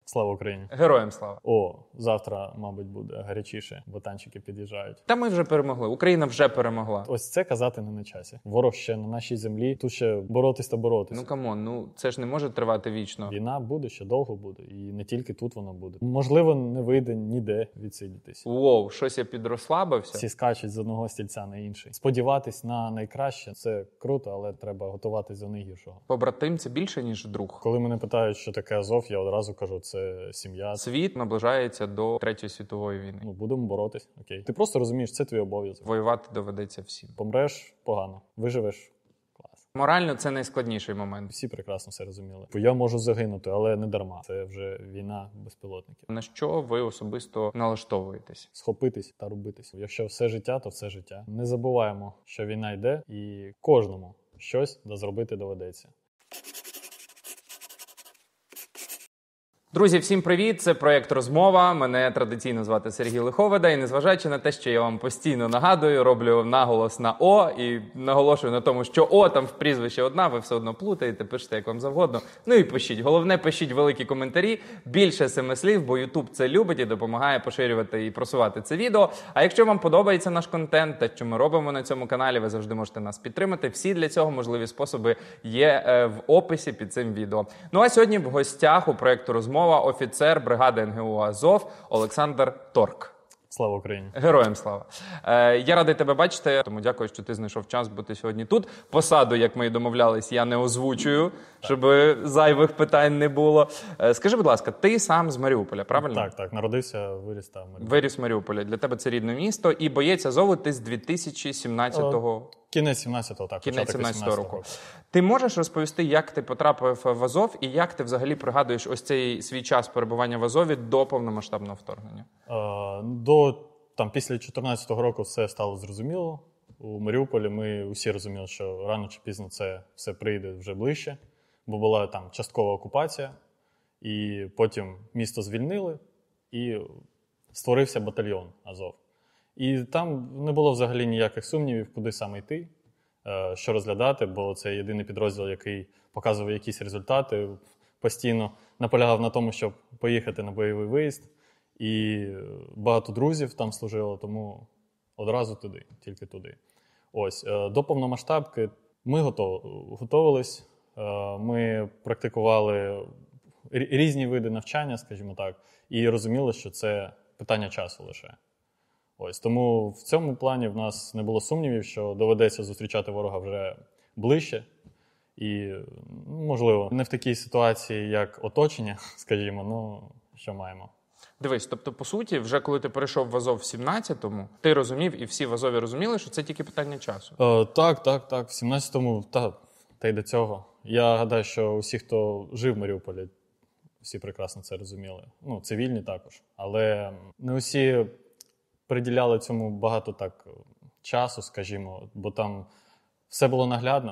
Слава Україні! Героям слава! Завтра, мабуть, буде гарячіше, бо танчики під'їжджають. Та ми вже перемогли, Україна вже перемогла. Ось це казати не на часі. Ворог ще на нашій землі, тут ще боротись та боротись. Ну камон, це ж не може тривати вічно. Війна буде, ще довго буде, і не тільки тут вона буде. Можливо, не вийде ніде відсидітись. Щось я підрослабився. Всі скачуть з одного стільця на інший. Сподіватись на найкраще – це круто, але треба готуватись до найгіршого. Побратим – це більше, ніж друг. Коли мене питають, що таке Азов, я одразу кажу, це сім'я. Світ наближається до Третьої світової війни. Будемо боротись, окей. Ти просто розумієш, це твій обов'язок. Воювати доведеться всім. Помреш – погано. Виживеш – клас. Морально це найскладніший момент. Всі прекрасно все розуміли. Я можу загинути, але не дарма. Це вже війна безпілотників. На що ви особисто налаштовуєтесь? Схопитись та робитись. Якщо все життя, то все життя. Не забуваємо, що війна йде, і кожному щось зробити доведеться. Друзі, всім привіт! Це проєкт «Розмова». Мене традиційно звати Сергій Лиховида. І незважаючи на те, що я вам постійно нагадую, роблю наголос на «О» і наголошую на тому, що «О» там в прізвище одна, ви все одно плутаєте, пишете як вам завгодно. Ну і пишіть. Головне, пишіть великі коментарі, більше 7 слів, бо YouTube це любить і допомагає поширювати і просувати це відео. А якщо вам подобається наш контент, те, що ми робимо на цьому каналі, ви завжди можете нас підтримати. Всі для цього можливі способи є в описі під цим відео. Ну а сьогодні в гостях у проєкту «Розмова» офіцер бригади НГУ «Азов» Олександр Торк. Слава Україні! Героям слава! Я радий тебе бачити, тому дякую, що ти знайшов час бути сьогодні тут. Посаду, як ми і домовлялись, я не озвучую, щоб зайвих питань не було. Скажи, будь ласка, ти сам з Маріуполя, правильно? Так. Народився, виріс там. Виріс в Маріуполі. Для тебе це рідне місто. І боєць Азову ти з 2017-го... Кінець 17-го, так. Кінець 17-го року. Ти можеш розповісти, як ти потрапив в Азов і як ти взагалі пригадуєш ось цей свій час перебування в Азові до повномасштабного вторгнення? Після 14-го року все стало зрозуміло. У Маріуполі ми усі розуміли, що рано чи пізно це все прийде вже ближче, бо була там часткова окупація, і потім місто звільнили, і створився батальйон Азов. І там не було взагалі ніяких сумнівів, куди саме йти, що розглядати, бо це єдиний підрозділ, який показував якісь результати, постійно наполягав на тому, щоб поїхати на бойовий виїзд. І багато друзів там служило, тому одразу туди, тільки туди. До повномасштабки ми готувались, ми практикували різні види навчання, скажімо так, і розуміли, що це питання часу лише. Тому в цьому плані в нас не було сумнівів, що доведеться зустрічати ворога вже ближче. І, можливо, не в такій ситуації, як оточення, скажімо, що маємо. Дивись, тобто, по суті, вже коли ти перейшов в Азов в 17-му, ти розумів, і всі в Азові розуміли, що це тільки питання часу? Так. В 17-му, та й до цього. Я гадаю, що усі, хто жив в Маріуполі, всі прекрасно це розуміли. Цивільні також. Але не усі приділяли цьому багато часу, скажімо, бо там все було наглядно,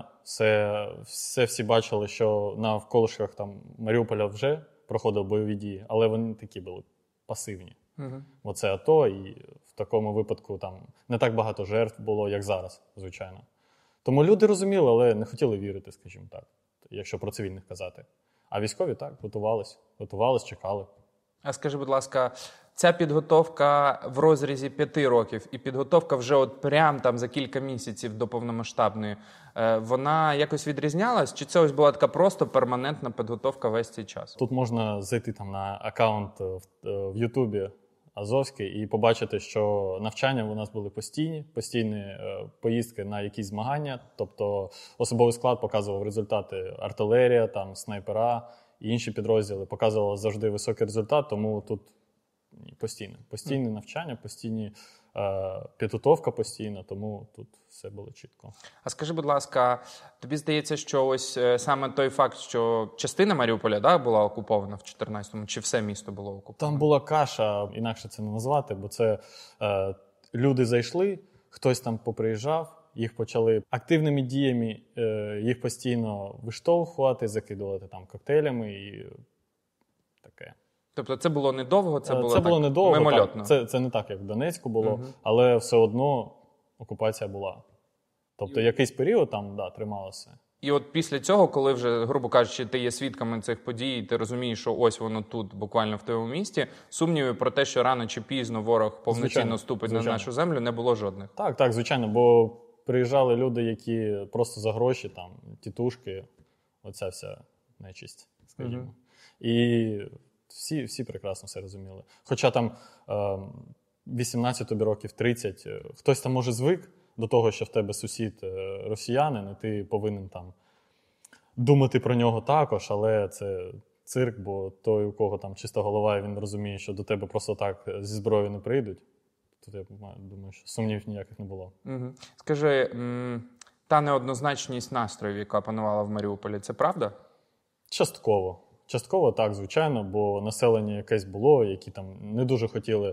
всі бачили, що на навколишках Маріуполя вже проходили бойові дії, але вони такі були пасивні. Бо це АТО, і в такому випадку там не так багато жертв було, як зараз, звичайно. Тому люди розуміли, але не хотіли вірити, скажімо так, якщо про цивільних казати. А військові так, готувались, чекали. А скажи, будь ласка, ця підготовка в розрізі 5 років і підготовка вже прям за кілька місяців до повномасштабної, вона якось відрізнялась? Чи це ось була така просто перманентна підготовка весь цей час? Тут можна зайти на аккаунт в Ютубі Азовський і побачити, що навчання у нас були постійні поїздки на якісь змагання, тобто особовий склад показував результати артилерія, снайпера і інші підрозділи, показували завжди високий результат, тому тут постійне навчання, підготовка постійна, тому тут все було чітко. А скажи, будь ласка, тобі здається, що ось саме той факт, що частина Маріуполя була окупована в 14-му, чи все місто було окуповано? Там була каша, інакше це не назвати, бо це люди зайшли, хтось там поприїжджав, їх почали активними діями, їх постійно виштовхувати, закидувати коктейлями і таке. Тобто це було недовго, це було мимольотно. Це не так, як в Донецьку було, але все одно окупація була. Тобто якийсь період там, трималося. І от після цього, коли вже, грубо кажучи, ти є свідками цих подій, ти розумієш, що ось воно тут, буквально в твоєму місті, сумнівів про те, що рано чи пізно ворог повноцінно ступить на нашу землю, не було жодних. Так, звичайно, бо приїжджали люди, які просто за гроші, там, тітушки, оця вся нечисть, скажімо. І всі прекрасно все розуміли. Хоча там 18 років, 30, хтось там може звик до того, що в тебе сусід росіянин, і ти повинен там думати про нього також, але це цирк, бо той, у кого там чиста голова, і він розуміє, що до тебе просто так зі зброєю не прийдуть. Тут я думаю, що сумнівів ніяких не було. Скажи, та неоднозначність настроїв, яка панувала в Маріуполі, це правда? Частково. Частково так, звичайно, бо населення якесь було, які там не дуже хотіли...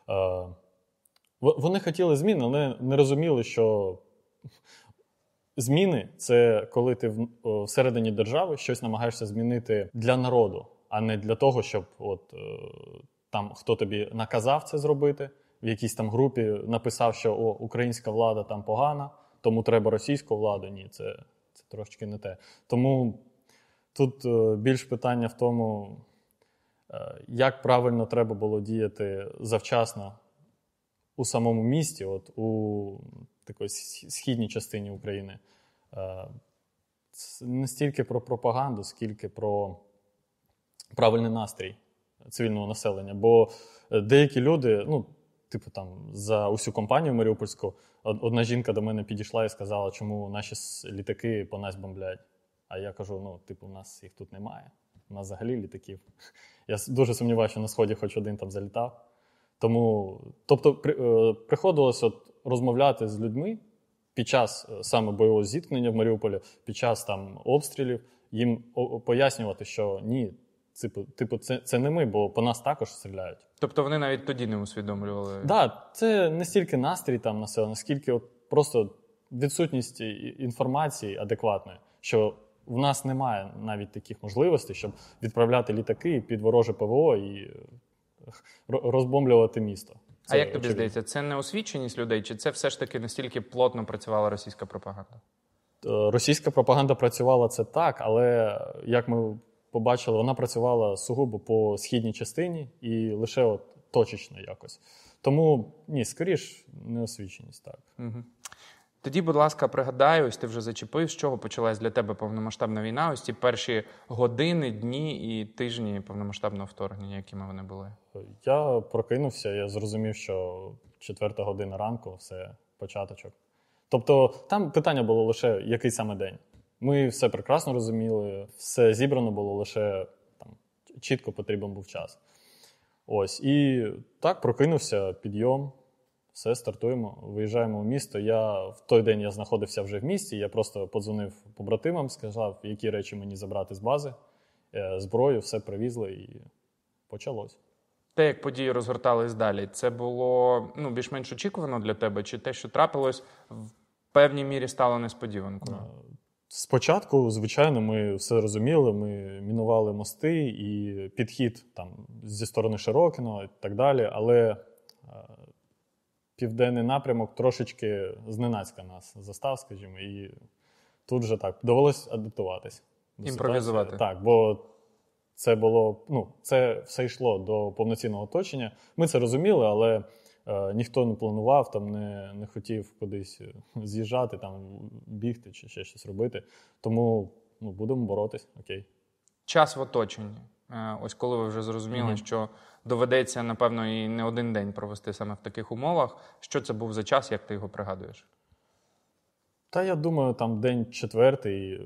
Вони хотіли змін, але не розуміли, що зміни – це коли ти всередині держави щось намагаєшся змінити для народу, а не для того, щоб там хто тобі наказав це зробити, в якійсь там групі написав, що українська влада там погана, тому треба російську владу. Ні, це трошки не те. Тому тут більш питання в тому, як правильно треба було діяти завчасно у самому місті, у такій східній частині України. Це не стільки про пропаганду, скільки про правильний настрій цивільного населення. Бо деякі люди, там за усю компанію маріупольську, одна жінка до мене підійшла і сказала, чому наші літаки по нас бомблять. А я кажу, у нас їх тут немає. У нас взагалі літаків. Я дуже сумніваюся, що на Сході хоч один там залітав. Тому, приходилось розмовляти з людьми під час саме бойового зіткнення в Маріуполі, під час там обстрілів, їм пояснювати, що ні, це не ми, бо по нас також стріляють. Тобто вони навіть тоді не усвідомлювали? Так, це не стільки настрій там населення, скільки просто відсутність інформації адекватної, що в нас немає навіть таких можливостей, щоб відправляти літаки під вороже ПВО і розбомблювати місто. А як тобі здається, це неосвіченість людей, чи це все ж таки настільки плотно працювала російська пропаганда? Російська пропаганда працювала це так, але, як ми побачили, вона працювала сугубо по східній частині і лише точечно якось. Тому, ні, скоріш, неосвіченість, так. Угу. Тоді, будь ласка, пригадай, ось ти вже зачепив, з чого почалась для тебе повномасштабна війна, ось ці перші години, дні і тижні повномасштабного вторгнення, якими вони були? Я прокинувся, я зрозумів, що 4 година ранку, все, початочок. Тобто там питання було лише, який саме день. Ми все прекрасно розуміли, все зібрано було, лише там, чітко потрібен був час. Ось, і так, прокинувся, підйом. Все, стартуємо, виїжджаємо в місто. В той день я знаходився вже в місті, я просто подзвонив побратимам, сказав, які речі мені забрати з бази, зброю, все привізли і почалось. Те, як події розгортались далі, це було більш-менш очікувано для тебе? Чи те, що трапилось, в певній мірі стало несподіванкою? Спочатку, звичайно, ми все розуміли, ми мінували мости і підхід там, зі сторони Широкиного і так далі, але південний напрямок трошечки зненацька нас застав, скажімо, і тут вже так, довелось адаптуватись. Імпровізувати. Так, бо це було, це все йшло до повноцінного оточення. Ми це розуміли, але ніхто не планував, там не хотів кудись з'їжджати, там бігти чи ще щось робити. Тому будемо боротись, окей. Час в оточенні. Ось коли ви вже зрозуміли, що доведеться, напевно, і не один день провести саме в таких умовах. Що це був за час, як ти його пригадуєш? Та я думаю, там день 4.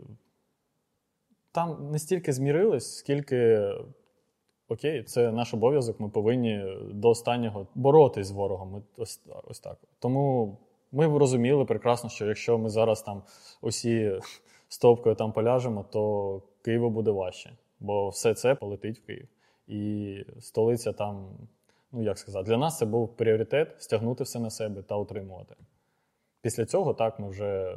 Там не стільки змірились, скільки, окей, це наш обов'язок, ми повинні до останнього боротись з ворогом. Ось так. Тому ми розуміли прекрасно, що якщо ми зараз там усі стовпкою там поляжемо, то Києву буде важче. Бо все це полетить в Київ. І столиця там, для нас це був пріоритет – стягнути все на себе та утримувати. Після цього, так, ми вже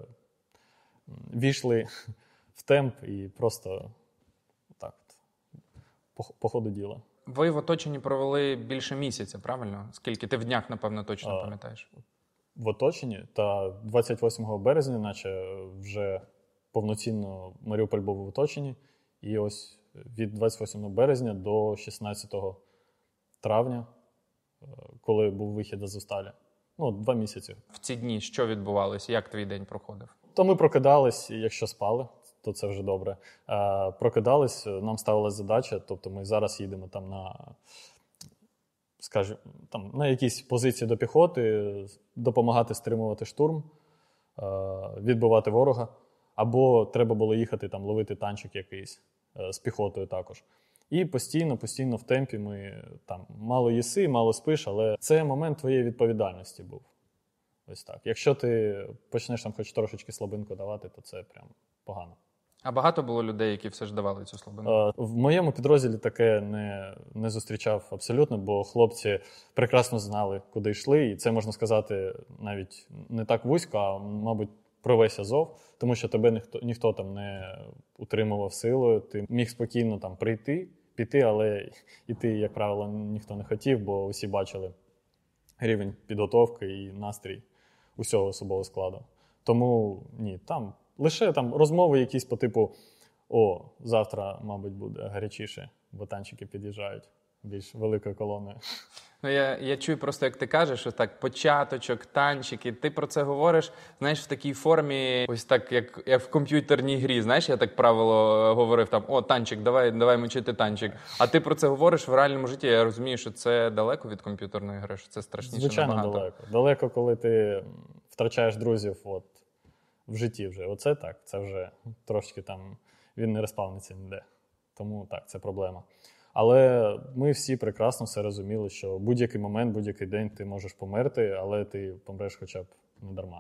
війшли в темп і просто так, по ходу діла. Ви в оточенні провели більше місяця, правильно? Скільки? Ти в днях, напевно, точно пам'ятаєш? В оточенні? Та 28 березня, наче вже повноцінно Маріуполь був в оточенні. І ось від 28 березня до 16 травня, коли був вихід з Азовсталі. 2 місяці. В ці дні що відбувалося? Як твій день проходив? То ми прокидались, і якщо спали, то це вже добре. Прокидались, нам ставилась задача, тобто ми зараз їдемо там на якісь позиції до піхоти, допомагати стримувати штурм, відбивати ворога, або треба було їхати там ловити танчик якийсь з піхотою також. І постійно в темпі ми там мало їси, мало спиш, але це момент твоєї відповідальності був. Ось так. Якщо ти почнеш там хоч трошечки слабинку давати, то це прям погано. А багато було людей, які все ж давали цю слабину? В моєму підрозділі таке не зустрічав абсолютно, бо хлопці прекрасно знали, куди йшли. І це, можна сказати, навіть не так вузько, а, мабуть, про весь Азов, тому що тебе ніхто там не утримував силою. Ти міг спокійно там піти, але йти, як правило, ніхто не хотів, бо усі бачили рівень підготовки і настрій усього особового складу. Тому ні, там лише там розмови якісь по типу завтра, мабуть, буде гарячіше, бо танчики під'їжджають більш великою колоною. Я чую просто, як ти кажеш, що так, початочок, танчики, ти про це говориш, знаєш, в такій формі, ось так, як в комп'ютерній грі, знаєш, я так правило говорив там, танчик, давай мочити танчик. А ти про це говориш в реальному житті, я розумію, що це далеко від комп'ютерної гри, що це страшніше Звичайно, набагато. далеко. Далеко, коли ти втрачаєш друзів в житті вже. Оце так, це вже трошки там, він не респавниться ніде. Тому так, це проблема. Але ми всі прекрасно все розуміли, що будь-який момент, будь-який день ти можеш померти, але ти помреш хоча б не дарма.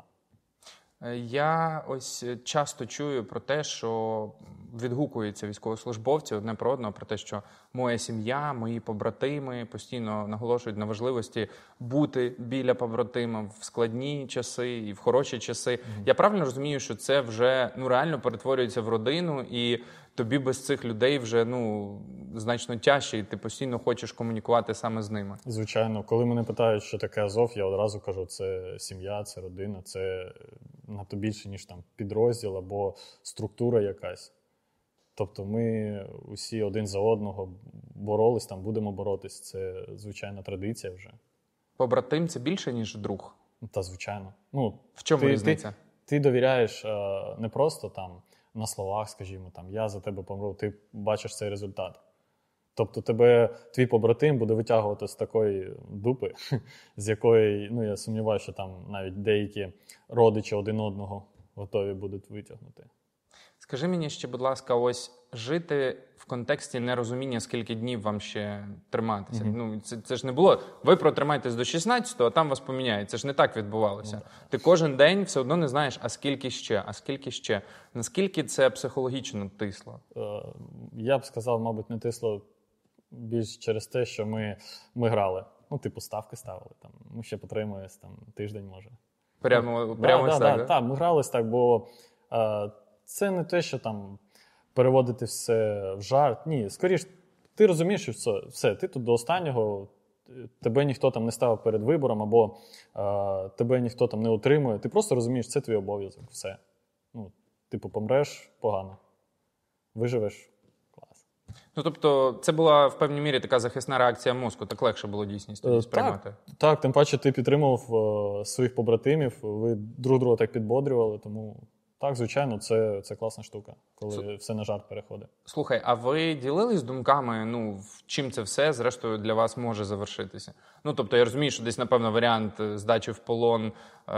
Я ось часто чую про те, що відгукуються військовослужбовці одне про одного, про те, що моя сім'я, мої побратими постійно наголошують на важливості бути біля побратима в складні часи і в хороші часи. Я правильно розумію, що це вже реально перетворюється в родину, і тобі без цих людей вже значно тяжче, і ти постійно хочеш комунікувати саме з ними? Звичайно. Коли мене питають, що таке Азов, я одразу кажу, це сім'я, це родина, це надто більше, ніж там підрозділ або структура якась. Тобто ми усі один за одного боролись, там будемо боротись. Це звичайна традиція вже. Побратим – це більше, ніж друг? Та звичайно. В чому різниця? Ти довіряєш не просто там на словах, скажімо, там я за тебе помру, ти бачиш цей результат. Тобто твій побратим буде витягувати з такої дупи, з якої, я сумніваюся, що там навіть деякі родичі один одного готові будуть витягнути. Скажи мені ще, будь ласка, ось жити в контексті нерозуміння, скільки днів вам ще триматися. Це ж не було, ви протримаєтесь до 16-го, а там вас поміняють. Це ж не так відбувалося. Ти кожен день все одно не знаєш, а скільки ще. Наскільки це психологічно тисло? Я б сказав, мабуть, не тисло більш через те, що ми грали. Ставки ставили. Там, ми ще потримуємось тиждень, може. Прямо ось так? Так, ми грались так, бо це не те, що там переводити все в жарт. Ні, скоріш, ти розумієш, що все, ти тут до останнього, тебе ніхто там не ставив перед вибором, або тебе ніхто там не утримує. Ти просто розумієш, це твій обов'язок, все. Помреш – погано. Виживеш – клас. Тобто це була в певній мірі така захисна реакція мозку, так легше було дійсність тоді сприймати? Так, тим паче ти підтримував своїх побратимів, ви друг друга так підбодрювали, тому... Так, звичайно, це класна штука, коли все на жарт переходить. Слухай, а ви ділились думками, чим це все, зрештою, для вас може завершитися? Тобто, я розумію, що десь, напевно, варіант здачі в полон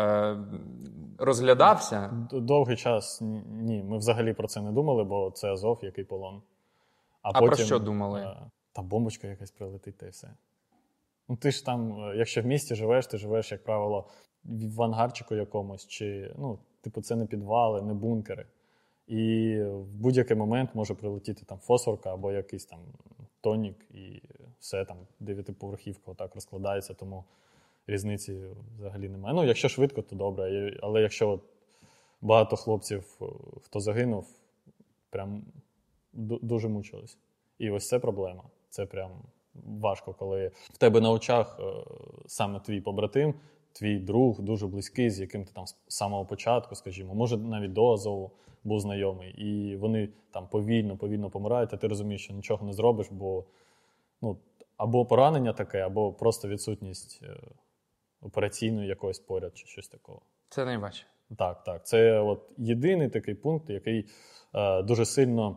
розглядався? Довгий час ні, ми взагалі про це не думали, бо це Азов, який полон. А потім, про що думали? Та бомбочка якась прилетить, та й все. Ти ж там, якщо в місті живеш, ти живеш, як правило, в ангарчику якомусь, чи, це не підвали, не бункери. І в будь-який момент може прилетіти там фосфорка або якийсь там тонік, і все, там 9-поверхівка отак розкладається, тому різниці взагалі немає. Якщо швидко, то добре, але якщо багато хлопців, хто загинув, прям дуже мучились. І ось це проблема. Це прям важко, коли в тебе на очах саме твій побратим, твій друг, дуже близький, з яким ти там з самого початку, скажімо, може навіть до Азову був знайомий, і вони там повільно помирають, а ти розумієш, що нічого не зробиш, бо або поранення таке, або просто відсутність операційної якоїсь поряд чи щось такого. Це найважче. Так. Це от єдиний такий пункт, який дуже сильно,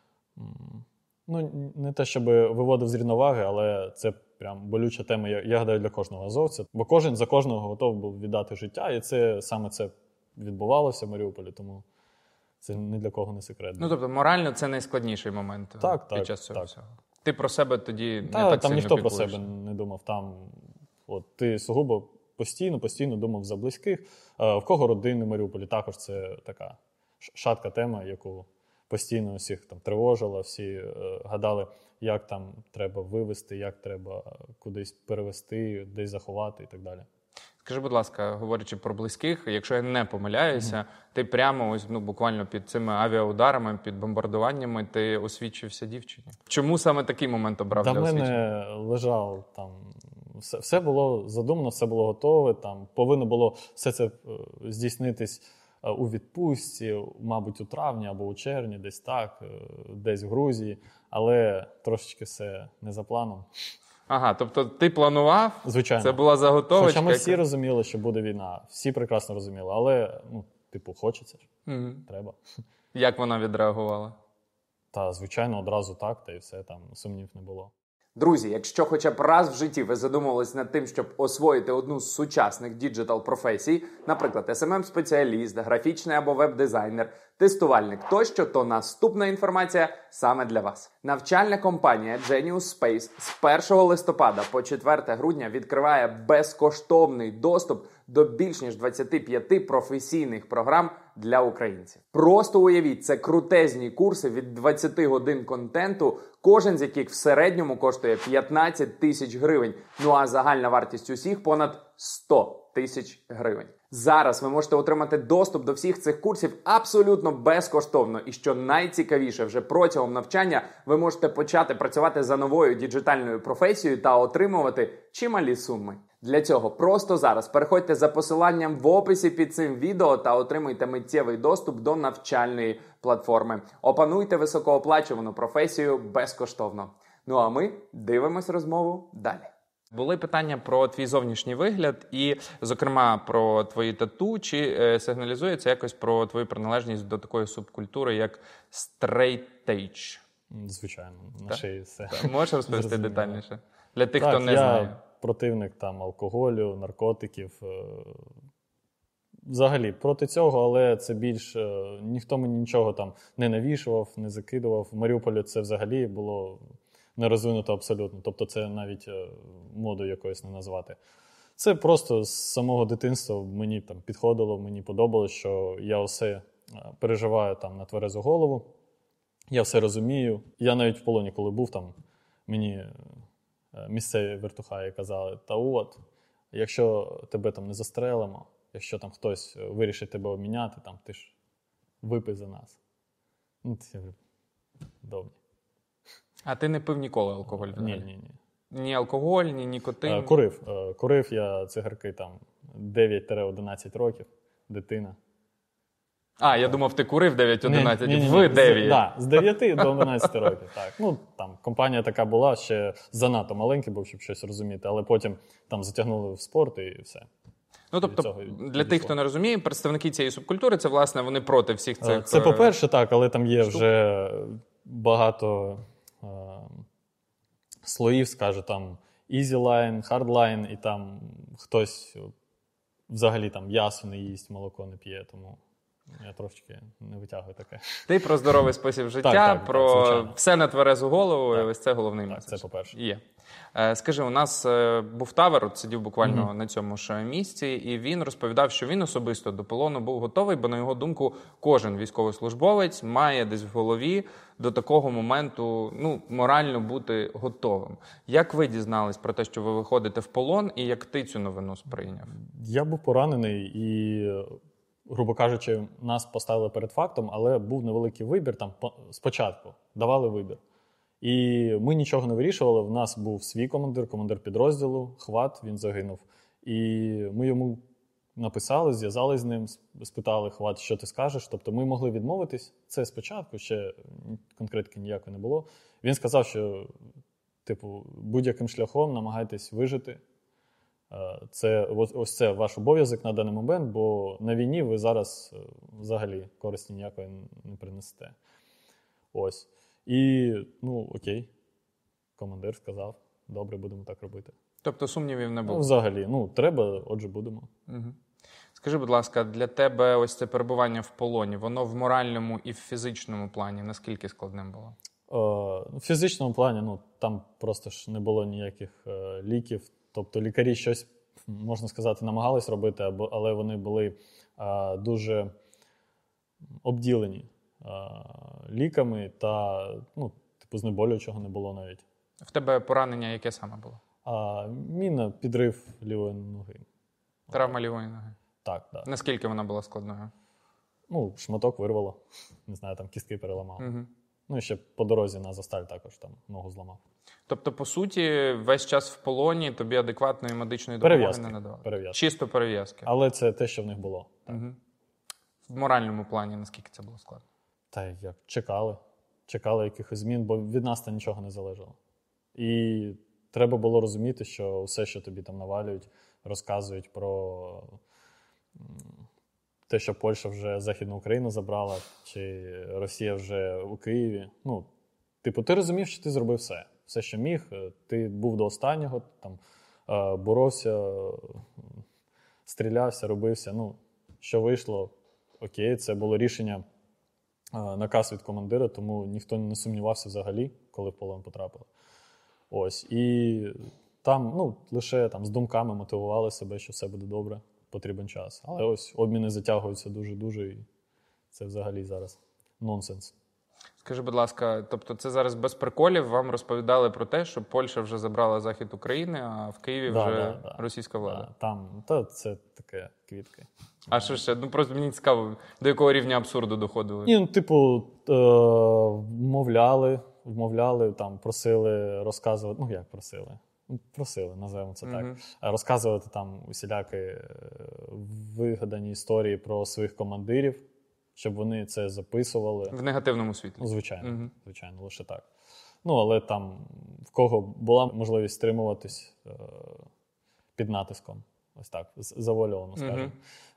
не те, щоб виводив з рівноваги, але це прям болюча тема, я гадаю, для кожного азовця. Бо кожен за кожного готовий був віддати життя, і саме це відбувалося в Маріуполі, тому це ні для кого не секрет. Тобто морально це найскладніший момент під час цього всього. Ти про себе тоді не так там сильно ніхто піклуєшся. про себе не думав. Там ти сугубо постійно думав за близьких. В кого родини в Маріуполі, також це така шатка тема, яку постійно всіх там тривожила, всі гадали, як там треба вивезти, як треба кудись перевезти, десь заховати і так далі. Скажи, будь ласка, говорячи про близьких, якщо я не помиляюся, ти прямо буквально під цими авіаударами, під бомбардуваннями ти освідчився дівчині. Чому саме такий момент обрав для освідчення? До мене лежав там, все було задумано, все було готове, там повинно було все це здійснитись у відпустці, мабуть, у травні або у червні, десь так, десь в Грузії, але трошечки все не за планом. Ага, тобто ти планував, звичайно. Це була заготовочка. Хоча ми всі розуміли, що буде війна, всі прекрасно розуміли, але, хочеться ж, треба. Як вона відреагувала? Та, звичайно, одразу так, та і все, там сумнів не було. Друзі, якщо хоча б раз в житті ви задумувались над тим, щоб освоїти одну з сучасних діджитал-професій, наприклад, SMM-спеціаліст, графічний або веб-дизайнер, тестувальник тощо, то наступна інформація саме для вас. Навчальна компанія Genius Space з 1 листопада по 4 грудня відкриває безкоштовний доступ до більш ніж 25 професійних програм для українців. Просто уявіть, це крутезні курси від 20 годин контенту, кожен з яких в середньому коштує 15 тисяч гривень, а загальна вартість усіх понад 100 тисяч гривень. Зараз ви можете отримати доступ до всіх цих курсів абсолютно безкоштовно. І що найцікавіше, вже протягом навчання ви можете почати працювати за новою діджитальною професією та отримувати чималі суми. Для цього просто зараз переходьте за посиланням в описі під цим відео та отримуйте миттєвий доступ до навчальної платформи. Опануйте високооплачувану професію безкоштовно. А ми дивимось розмову далі. Були питання про твій зовнішній вигляд і, зокрема, про твої тату. Чи сигналізується якось про твою приналежність до такої субкультури, як стрейт-ейдж? Звичайно, на шиї все. Можеш розповісти детальніше? Для тих, хто не я знає. Противник там алкоголю, наркотиків. Взагалі, проти цього, але це більш... Ніхто мені нічого там не навішував, не закидував. В Маріуполі це взагалі було не розвинуто абсолютно. Тобто це навіть модою якоюсь не назвати. Це просто з самого дитинства мені там підходило, мені подобалось, що я все переживаю там на тверезу голову. Я все розумію. Я навіть в полоні, коли був там, мені місцеві вертухаї казали, якщо тебе там не застрелимо, якщо там хтось вирішить тебе обміняти, там ти ж випий за нас. Я говорю, добре. А ти не пив ніколи алкоголь? Ні. Ні алкоголь, ні нікотин? Курив я цигарки там 9-11 років, дитина. Я думав, ти курив 9-11, Ні. 9. Так, з 9 до 11 років. Так. Там компанія така була, ще занадто маленький був, щоб щось розуміти, але потім там затягнули в спорт і все. Тобто, для тих, хто не розуміє, представники цієї субкультури, це, власне, вони проти всіх цих... Це, по-перше, так, але там є вже багато слоїв, скажу, там easy line, hard line, і там хтось взагалі там м'ясо не їсть, молоко не п'є, тому я трошки не витягую таке. Ти про здоровий спосіб життя, так, про все на тверезу голову, і ось це головний меседж. Так, це по-перше. Є. Скажи, у нас був Тавер, сидів буквально на цьому ж місці, і він розповідав, що він особисто до полону був готовий, бо, на його думку, кожен військовослужбовець має десь в голові до такого моменту морально бути готовим. Як ви дізнались про те, що ви виходите в полон, і як ти цю новину сприйняв? Я був поранений і, грубо кажучи, нас поставили перед фактом, але був невеликий вибір там спочатку, давали вибір. І ми нічого не вирішували, в нас був свій командир підрозділу, Хват, він загинув. І ми йому написали, зв'язались з ним, спитали, Хват, що ти скажеш. Тобто ми могли відмовитись. Це спочатку, ще конкретики ніякої не було. Він сказав, що типу, будь-яким шляхом намагайтесь вижити. Ось це ваш обов'язок на даний момент, бо на війні ви зараз взагалі користі ніякої не принесете. Ось. І, окей, командир сказав, добре, будемо так робити. Тобто сумнівів не було? Взагалі, треба, отже, будемо. Угу. Скажи, будь ласка, для тебе ось це перебування в полоні, воно в моральному і в фізичному плані наскільки складним було? В фізичному плані, там просто ж не було ніяких ліків. Тобто лікарі щось, можна сказати, намагались робити, але вони були дуже обділені ліками та, знеболюючого не було навіть. В тебе поранення яке саме було? Міна, підрив лівої ноги. Травма лівої ноги? Так, так. Наскільки вона була складною? Шматок вирвало. Не знаю, там кістки переламало. Угу. І ще по дорозі на Азовсталь також там ногу зламав. Тобто, по суті, весь час в полоні тобі адекватної медичної допомоги не надавали? Перев'язки. Чисто перев'язки. Але це те, що в них було. Угу. В моральному плані наскільки це було складно? Та як, чекали якихось змін, бо від нас там нічого не залежало. І треба було розуміти, що все, що тобі там навалюють, розказують про те, що Польща вже Західну Україну забрала, чи Росія вже у Києві. Ти розумів, що ти зробив все. Все, що міг, ти був до останнього, там, боровся, стрілявся, робився. Що вийшло, окей, це було рішення, наказ від командира, тому ніхто не сумнівався взагалі, коли в полон потрапили. Ось, і там, лише там з думками мотивували себе, що все буде добре, потрібен час. Але ось обміни затягуються дуже-дуже, і це взагалі зараз нонсенс. Скажи, будь ласка, тобто це зараз без приколів вам розповідали про те, що Польща вже забрала захід України, а в Києві вже російська влада? Це таке квітки. А що ще? Просто мені цікаво, до якого рівня абсурду доходили? Вмовляли, там, просили розказувати, як просили? Просили, називаємо це так. Розказувати там усілякі вигадані історії про своїх командирів, щоб вони це записували. В негативному світлі? Звичайно, звичайно, лише так. Але там, в кого була можливість стримуватись під натиском, ось так, завуальовано, скажімо.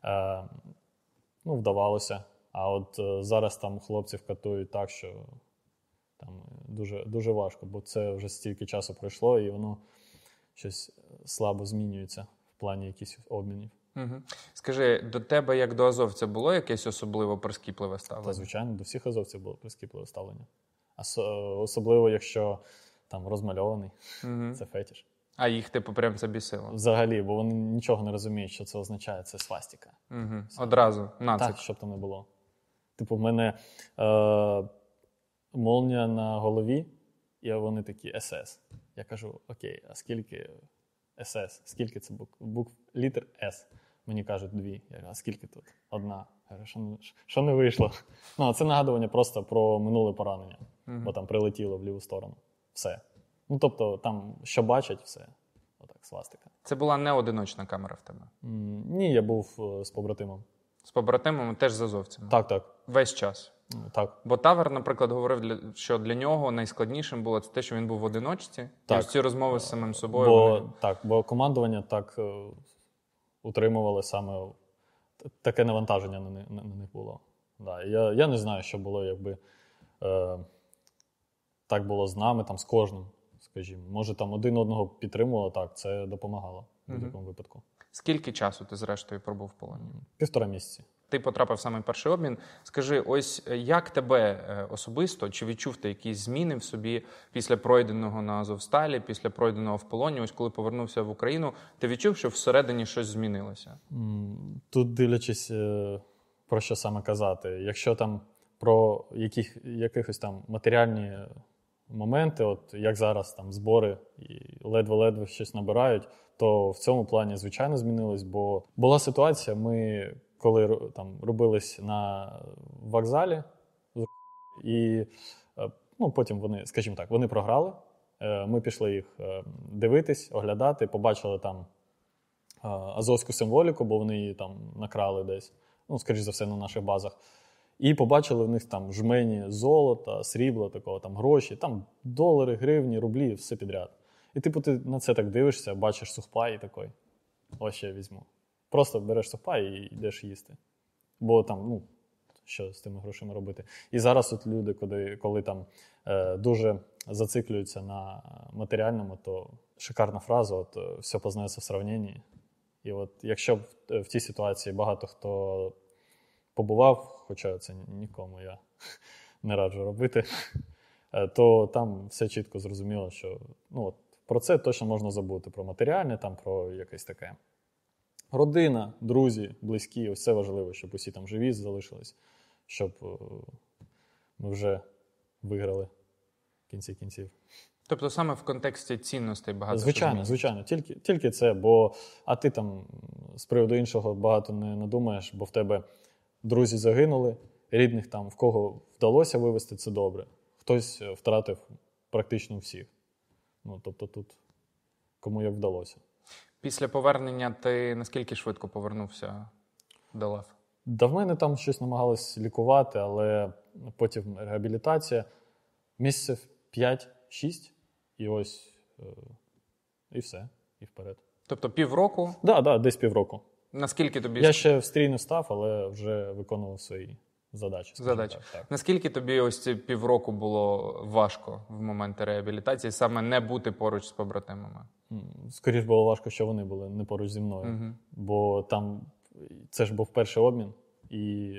Вдавалося. А от зараз там хлопців катують так, що там дуже, дуже важко, бо це вже стільки часу пройшло, і воно щось слабо змінюється в плані якихось обмінів. Угу. Скажи, до тебе, як до азовця, було якесь особливо прискіпливе ставлення? Та, звичайно, до всіх азовців було прискіпливе ставлення. Особливо, якщо там розмальований, це фетиш. А їх, прям це бісило? Взагалі, бо вони нічого не розуміють, що це означає, це свастика. Одразу, нацик. Так, щоб там не було. В мене молнія на голові, і вони такі СС. Я кажу, окей, а скільки СС? Скільки це букв? Літер С. Мені кажуть 2. Я кажу, а скільки тут? 1. Я кажу, що не вийшло? Це нагадування просто про минуле поранення, бо там прилетіло в ліву сторону. Все. Тобто там, що бачать, все. Отак, свастика. Це була не одиночна камера в тебе? Ні, я був з побратимом. З побратимом теж з азовцями? Так. Весь час? Так. Бо Тавер, наприклад, говорив, що для нього найскладнішим було те, що він був в одиночці. Так. І ось ці розмови з самим собою. Бо командування так утримували саме таке навантаження на них було. Я не знаю, що було, якби так було з нами, там, з кожним, скажімо. Може, там один одного підтримувало, так, це допомагало в будь-якому випадку. Скільки часу ти, зрештою, пробув в полоні? 1,5 місяці. Ти потрапив в самий перший обмін. Скажи, ось як тебе особисто, чи відчув ти якісь зміни в собі після пройденого на Азовсталі, після пройденого в полоні, ось коли повернувся в Україну, ти відчув, що всередині щось змінилося? Тут дивлячись, про що саме казати. Якщо там про якихось там матеріальні моменти, от як зараз там збори і ледве-ледве щось набирають, то в цьому плані, звичайно, змінилось, бо була ситуація, ми коли там робились на вокзалі, і потім вони, скажімо так, вони програли, ми пішли їх дивитись, оглядати, побачили там азовську символіку, бо вони її там накрали десь, ну, скоріш за все, на наших базах. І побачили в них там жмені золота, срібла, такого, там гроші, там долари, гривні, рублі, все підряд. І типу ти на це так дивишся, бачиш сухпай і такий, ось ще візьму. Просто береш сухпай і йдеш їсти. Бо там, ну, що з тими грошима робити. І зараз от люди, коли там дуже зациклюються на матеріальному, то шикарна фраза, от все познається в сравненні. І от якщо в тій ситуації багато хто побував, хоча це нікому я не раджу робити, то там все чітко зрозуміло, що ну, от, про це точно можна забути. Про матеріальне, там, про якесь таке. Родина, друзі, близькі, ось це важливо, щоб усі там живі залишились, щоб ми вже виграли в кінці кінців. Тобто саме в контексті цінностей багато Звичайно. Тільки це, бо а ти там з приводу іншого багато не надумаєш, бо в тебе друзі загинули, рідних там, в кого вдалося вивезти, це добре. Хтось втратив практично всіх. Ну, тобто тут кому як вдалося. Після повернення ти наскільки швидко повернувся до лав? Да в мене там щось намагалось лікувати, але потім реабілітація. Місяців 5-6, і ось, і все, і вперед. Тобто півроку? Да, десь півроку. Наскільки тобі... Я ще в стрій не став, але вже виконував свої задачі. Так. Наскільки тобі ось ці півроку було важко в момент реабілітації саме не бути поруч з побратимами? Скоріше було важко, що вони були не поруч зі мною. Угу. Бо там це ж був перший обмін, і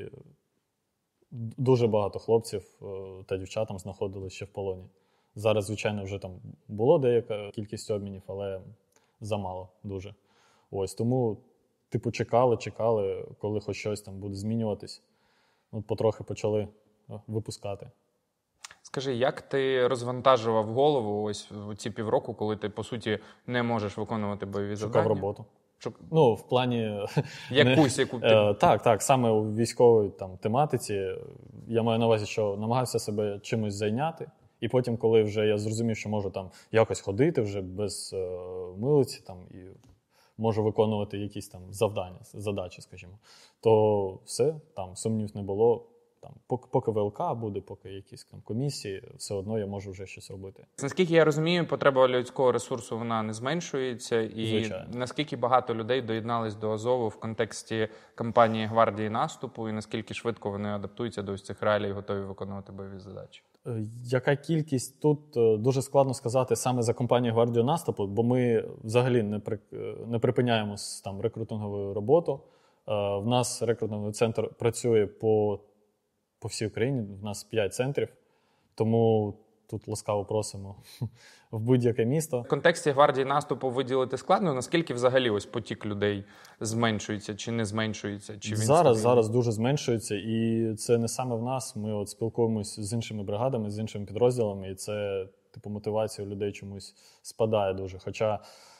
дуже багато хлопців та дівчат там знаходилися ще в полоні. Зараз, звичайно, вже там було деяка кількість обмінів, але замало дуже. Ось, тому, типу, чекали, коли хоч щось там буде змінюватись. От потрохи почали випускати. Скажи, як ти розвантажував голову ось в ці півроку, коли ти, по суті, не можеш виконувати бойові завдання? Шукав роботу. Ну, в плані... Яку? Так, саме у військовій там, тематиці. Я маю на увазі, що намагався себе чимось зайняти. І потім, коли вже я зрозумів, що можу там якось ходити вже без милиці там, і можу виконувати якісь там завдання, задачі, скажімо, то все, там сумнів не було. Там, поки ВЛК буде, поки якісь там комісії, все одно я можу вже щось робити. Наскільки я розумію, потреба людського ресурсу вона не зменшується. І звичайно. Наскільки багато людей доєднались до Азову в контексті кампанії гвардії наступу, і наскільки швидко вони адаптуються до ось цих реалій і готові виконувати бойові задачі? Яка кількість тут, дуже складно сказати саме за кампанію гвардії наступу, бо ми взагалі не припиняємо там рекрутингову роботу. В нас рекрутинговий центр працює по всій Україні, в нас 5 центрів, тому тут ласкаво просимо в будь-яке місто. В контексті гвардії наступу виділити складно, наскільки взагалі ось потік людей зменшується чи не зменшується? Чи він зараз дуже зменшується, і це не саме в нас. Ми от спілкуємось з іншими бригадами, з іншими підрозділами, і це типу мотивація у людей чомусь спадає дуже. Хоча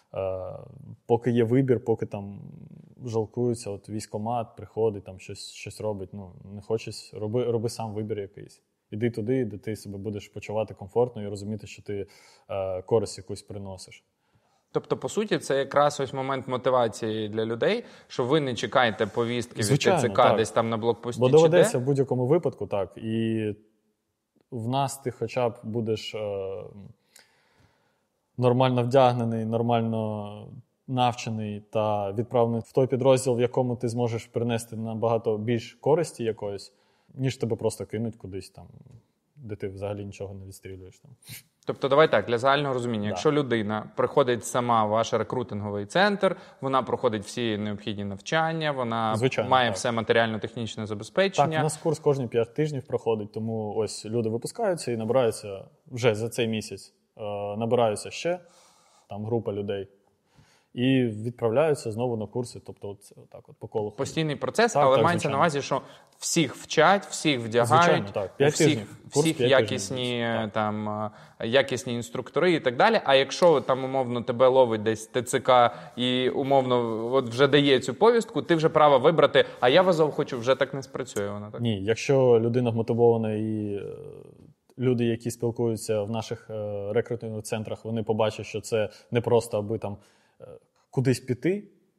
поки є вибір, поки там жалкуються, от військкомат приходить, там щось робить, ну не хочеш, роби сам вибір якийсь. Іди туди, де ти себе будеш почувати комфортно і розуміти, що ти користь якусь приносиш. Тобто, по суті, це якраз ось момент мотивації для людей, що ви не чекаєте повістки від ТЦК так. Десь там на блокпості. Бо доведеться в будь-якому випадку, так. І в нас ти хоча б будеш нормально вдягнений, нормально навчений та відправлений в той підрозділ, в якому ти зможеш принести набагато більш користі якоїсь, ніж тебе просто кинуть кудись там, де ти взагалі нічого не відстрілюєш. Там. Тобто, давай так, для загального розуміння. Якщо людина приходить сама в ваш рекрутинговий центр, вона проходить всі необхідні навчання, вона має все матеріально-технічне забезпечення. Так, у нас курс кожні 5 тижнів проходить, тому ось люди випускаються і набираються вже за цей місяць. Набираються ще, там група людей, і відправляються знову на курси, тобто от так от по колу. Постійний процес, але мається на увазі, що всіх вчать, всіх вдягають, всіх якісні, там, якісні інструктори і так далі. А якщо там умовно тебе ловить десь ТЦК і умовно от вже дає цю повістку, ти вже право вибрати, а я в Азов хочу, вже так не спрацює вона, так? Ні, якщо людина вмотивована і люди, які спілкуються в наших рекрутингових центрах, вони побачать, що це не просто аби там кудись піти,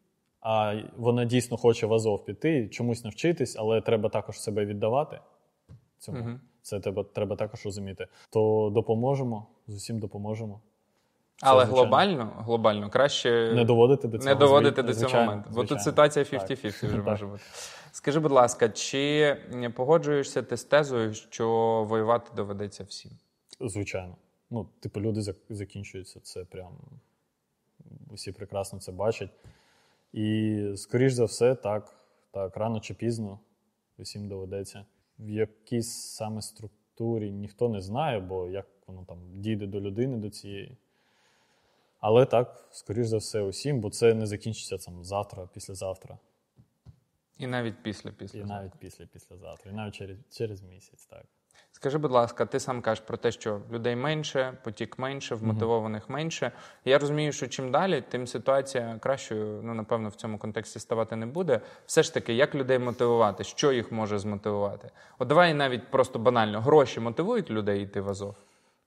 а вона дійсно хоче в Азов піти, чомусь навчитись, але треба також себе віддавати цьому. Це треба також розуміти. То допоможемо, з усім допоможемо. Але глобально краще не доводити до цього моменту. Бо тут ситуація 50-50 вже може бути. Скажи, будь ласка, чи погоджуєшся ти з тезою, що воювати доведеться всім? Звичайно. Люди закінчуються, це прям усі прекрасно це бачать. І, скоріш за все, так, рано чи пізно усім доведеться. В якійсь саме структурі ніхто не знає, бо як воно там дійде до людини, до цієї. Але так, скоріш за все, усім, бо це не закінчиться завтра, післязавтра. І навіть післязавтра. І навіть післязавтра. І навіть через місяць, так. Скажи, будь ласка, ти сам кажеш про те, що людей менше, потік менше, вмотивованих менше. Я розумію, що чим далі, тим ситуація кращою, напевно, в цьому контексті ставати не буде. Все ж таки, як людей мотивувати? Що їх може змотивувати? От давай навіть просто банально. Гроші мотивують людей йти в Азов?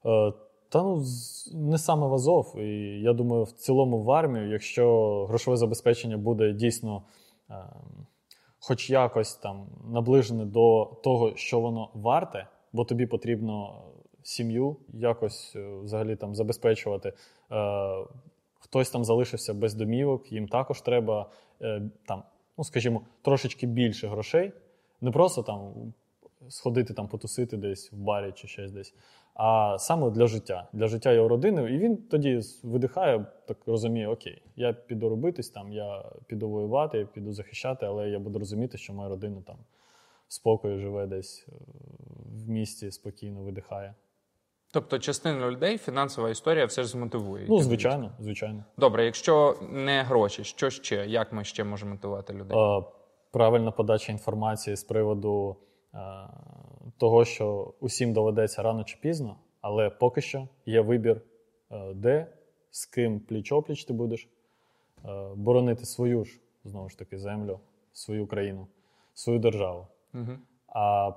Не саме в Азов. І я думаю, в цілому в армію, якщо грошове забезпечення буде дійсно хоч якось там наближене до того, що воно варте, бо тобі потрібно сім'ю якось взагалі там забезпечувати. Хтось там залишився без домівок, їм також треба скажімо, трошечки більше грошей. Не просто там сходити там потусити десь в барі чи щось десь, а саме для життя. Для життя його родини. І він тоді видихає, так розуміє, окей, я піду робитись, я піду воювати, я піду захищати, але я буду розуміти, що моя родина там в спокої живе десь в місті, спокійно видихає. Тобто частину людей фінансова історія все ж змотивує? Звичайно. Добре, якщо не гроші, що ще? Як ми ще можемо мотивувати людей? Правильна подача інформації з приводу того, що усім доведеться рано чи пізно, але поки що є вибір, де, з ким пліч-опліч ти будеш боронити свою ж, знову ж таки, землю, свою країну, свою державу. А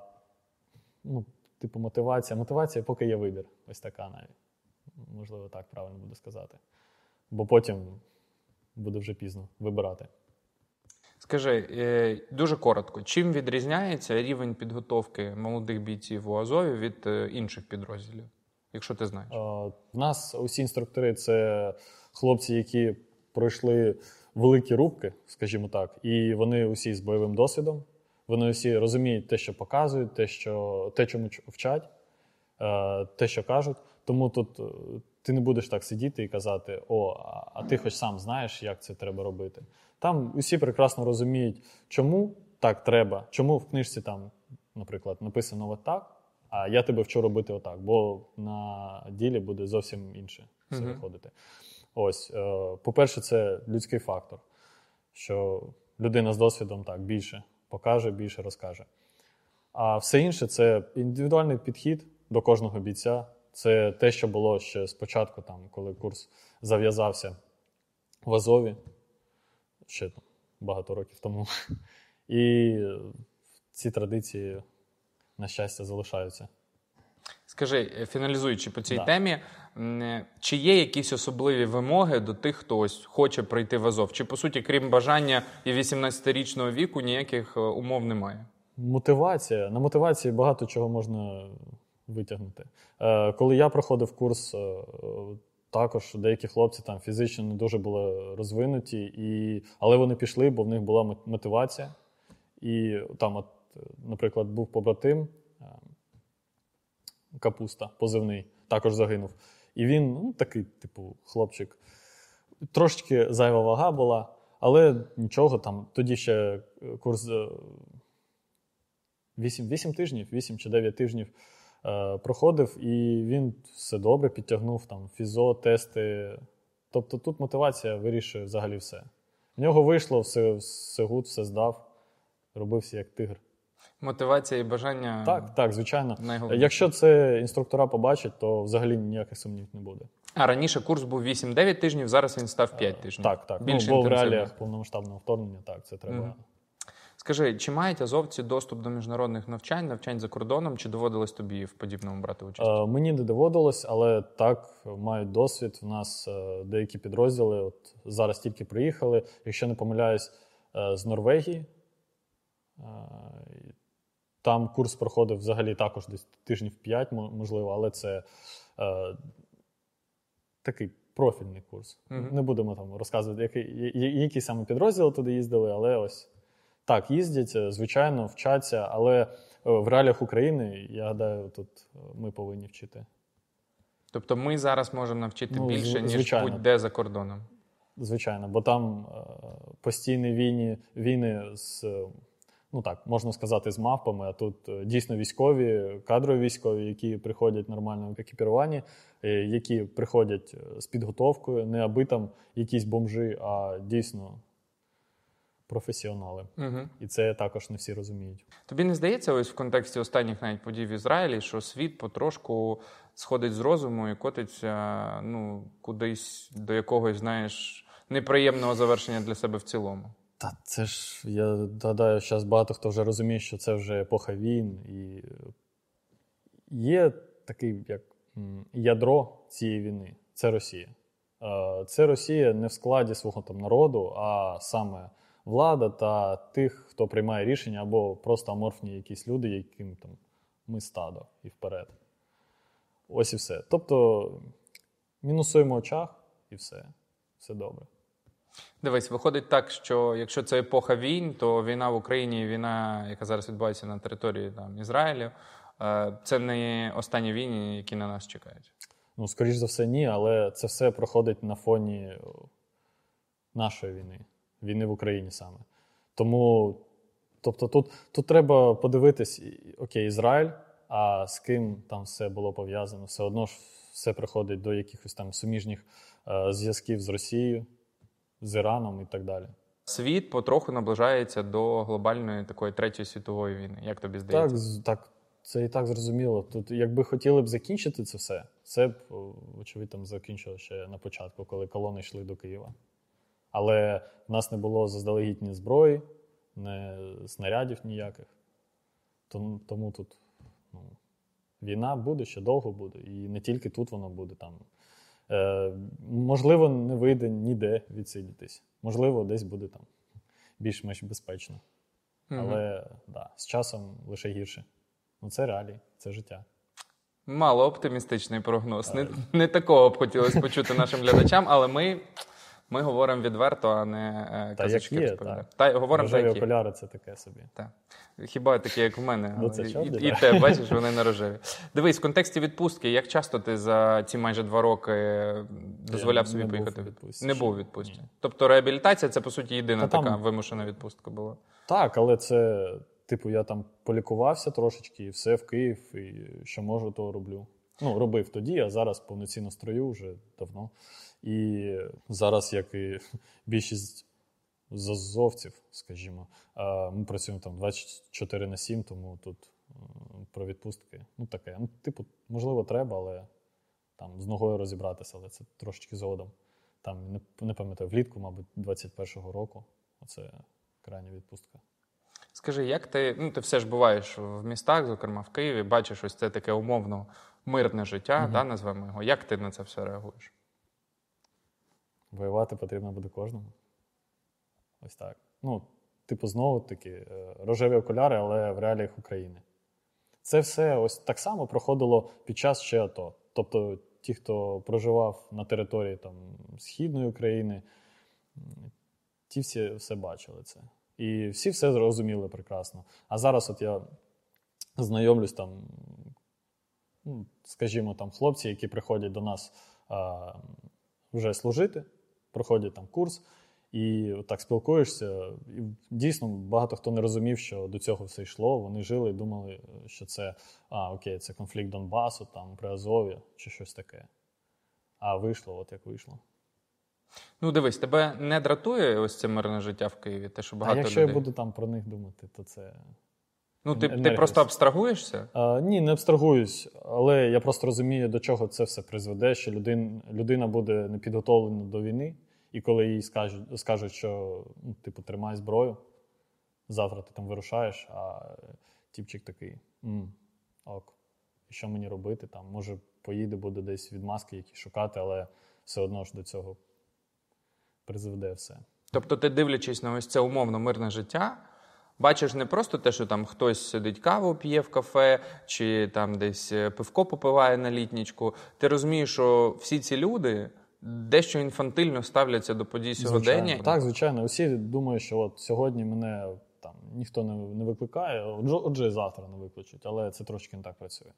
мотивація, поки є вибір. Ось така навіть. Можливо, так правильно буде сказати. Бо потім буде вже пізно вибирати. Скажи, дуже коротко, чим відрізняється рівень підготовки молодих бійців у Азові від інших підрозділів, якщо ти знаєш? В нас усі інструктори – це хлопці, які пройшли великі рубки, скажімо так, і вони усі з бойовим досвідом. Вони усі розуміють те, що показують, те, чому вчать, те, що кажуть. Тому тут ти не будеш так сидіти і казати, а ти хоч сам знаєш, як це треба робити. Там усі прекрасно розуміють, чому так треба, чому в книжці там, наприклад, написано отак, а я тебе вчу робити отак, бо на ділі буде зовсім інше все виходити. Ось, по-перше, це людський фактор, що людина з досвідом так більше покаже, більше розкаже. А все інше – це індивідуальний підхід до кожного бійця. Це те, що було ще спочатку, там, коли курс зав'язався в Азові, ще багато років тому. І ці традиції, на щастя, залишаються. Скажи, фіналізуючи по цій темі, чи є якісь особливі вимоги до тих, хто ось хоче прийти в Азов? Чи, по суті, крім бажання і 18-річного віку, ніяких умов немає? Мотивація. На мотивації багато чого можна витягнути. Коли я проходив курс, також деякі хлопці там фізично не дуже були розвинуті, але вони пішли, бо в них була мотивація. І там, наприклад, був побратим, Капуста, позивний, також загинув. І він, такий, хлопчик, трошечки зайва вага була, але нічого, там, тоді ще курс 8 тижнів, 8 чи 9 тижнів проходив, і він все добре підтягнув, там, фізо, тести. Тобто тут мотивація вирішує взагалі все. В нього вийшло, все гуд, все здав, робився як тигр. Мотивація і бажання... Так, звичайно. Якщо це інструктора побачать, то взагалі ніяких сумнівів не буде. А раніше курс був 8-9 тижнів, зараз він став 5 тижнів. Так. Бо в реаліях повномасштабного вторгнення, так, це треба... Скажи, чи мають азовці доступ до міжнародних навчань за кордоном, чи доводилось тобі в подібному брати участь? Мені не доводилось, але так, мають досвід. У нас деякі підрозділи от зараз тільки приїхали, якщо не помиляюсь, з Норвегії. Там курс проходив взагалі також десь тижнів 5, можливо, але це такий профільний курс. Не будемо там розказувати, які саме підрозділи туди їздили, але ось так, їздять, звичайно, вчаться, але в реаліях України, я гадаю, тут ми повинні вчити. Тобто ми зараз можемо навчити більше, ніж звичайно. будь-де за кордоном? Звичайно, бо там постійні війни з, ну так, можна сказати, з мавпами, а тут дійсно військові, кадрові військові, які приходять нормально екіпіровані, які приходять з підготовкою, не аби там якісь бомжи, а дійсно професіонали. І це також не всі розуміють. Тобі не здається, ось в контексті останніх навіть подій в Ізраїлі, що світ потрошку сходить з розуму і котиться кудись до якогось, знаєш, неприємного завершення для себе в цілому? Та це ж, я гадаю, зараз багато хто вже розуміє, що це вже епоха війн. І є такий, як ядро цієї війни – це Росія. Це Росія не в складі свого там народу, а саме влада та тих, хто приймає рішення, або просто аморфні якісь люди, яким там ми стадо і вперед. Ось і все. Тобто мінусуємо в очах і все. Все добре. Дивись, виходить так, що якщо це епоха війн, то війна в Україні, війна, яка зараз відбувається на території там, Ізраїлю, це не останні війни, які на нас чекають. Ну, скоріш за все, ні, але це все проходить на фоні нашої війни. Війни в Україні саме. Тому, тобто тут треба подивитись, окей, Ізраїль, а з ким там все було пов'язано. Все одно ж все приходить до якихось там суміжних зв'язків з Росією, з Іраном і так далі. Світ потроху наближається до глобальної такої третьої світової війни. Як тобі здається? Так, це і так зрозуміло. Тут, якби хотіли б закінчити це все, це б, очевидь, там закінчило ще на початку, коли колони йшли до Києва. Але в нас не було заздалегідь ні зброї, ні снарядів ніяких. Тому тут війна буде, ще довго буде. І не тільки тут вона буде. Там. Можливо, не вийде ніде відсидітись. Можливо, десь буде там більш-менш безпечно. Але з часом лише гірше. Це реалії, це життя. Мало оптимістичний прогноз. Не такого б хотілося почути нашим глядачам, але ми говоримо відверто, а не казочки розповідаємо. Та говоримо рожеві окуляри – це таке собі. Так. Хіба такі, як в мене. Це чорні, і те, бачиш, вони не рожеві. Дивись, в контексті відпустки, як часто ти за ці майже 2 роки дозволяв собі поїхати в відпустку? Не був у відпустці. Тобто реабілітація – це, по суті, єдина така вимушена відпустка була? Так, але це, я там полікувався трошечки, і все в Київ, і що можу, то роблю. Робив тоді, а зараз повноцінно строю вже давно. І зараз, як і більшість з азовців, скажімо, ми працюємо там 24/7, тому тут про відпустки, таке. Можливо, треба, але там з ногою розібратися, але це трошечки згодом. Там, не пам'ятаю, влітку, мабуть, 21-го року. Оце крайня відпустка. Скажи, як ти все ж буваєш в містах, зокрема в Києві, бачиш ось це таке умовно мирне життя, назвемо його. Як ти на це все реагуєш? Воювати потрібно буде кожному. Ось так. Знову-таки, рожеві окуляри, але в реаліях України. Це все ось так само проходило під час ще АТО. Тобто ті, хто проживав на території там, Східної України, ті всі все бачили це. І всі все зрозуміли прекрасно. А зараз от я знайомлюсь там, скажімо, там хлопці, які приходять до нас вже служити, проходять там курс, і так спілкуєшся. І дійсно, багато хто не розумів, що до цього все йшло. Вони жили і думали, що це, це конфлікт Донбасу, там, при Азові, чи щось таке. А вийшло, от як вийшло. Дивись, тебе не дратує ось це мирне життя в Києві? Те, що багато якщо людей... я буду там про них думати, то це... Ти просто абстрагуєшся? Ні, не абстрагуюсь, але я просто розумію, до чого це все призведе, що людина буде не підготовлена до війни, і коли їй скажуть, що тримай зброю, завтра ти там вирушаєш, а тіпчик такий, ок, і що мені робити? Там, може, поїде, буде десь відмазки якісь шукати, але все одно ж до цього призведе все. Тобто ти, дивлячись на ось це умовно мирне життя, бачиш не просто те, що там хтось сидить каву п'є в кафе, чи там десь пивко попиває на літнічку. Ти розумієш, що всі ці люди дещо інфантильно ставляться до подій сьогодення. Так, звичайно. Усі думають, що от сьогодні мене там ніхто не викликає, отже, і завтра не викличуть, але це трошки не так працює.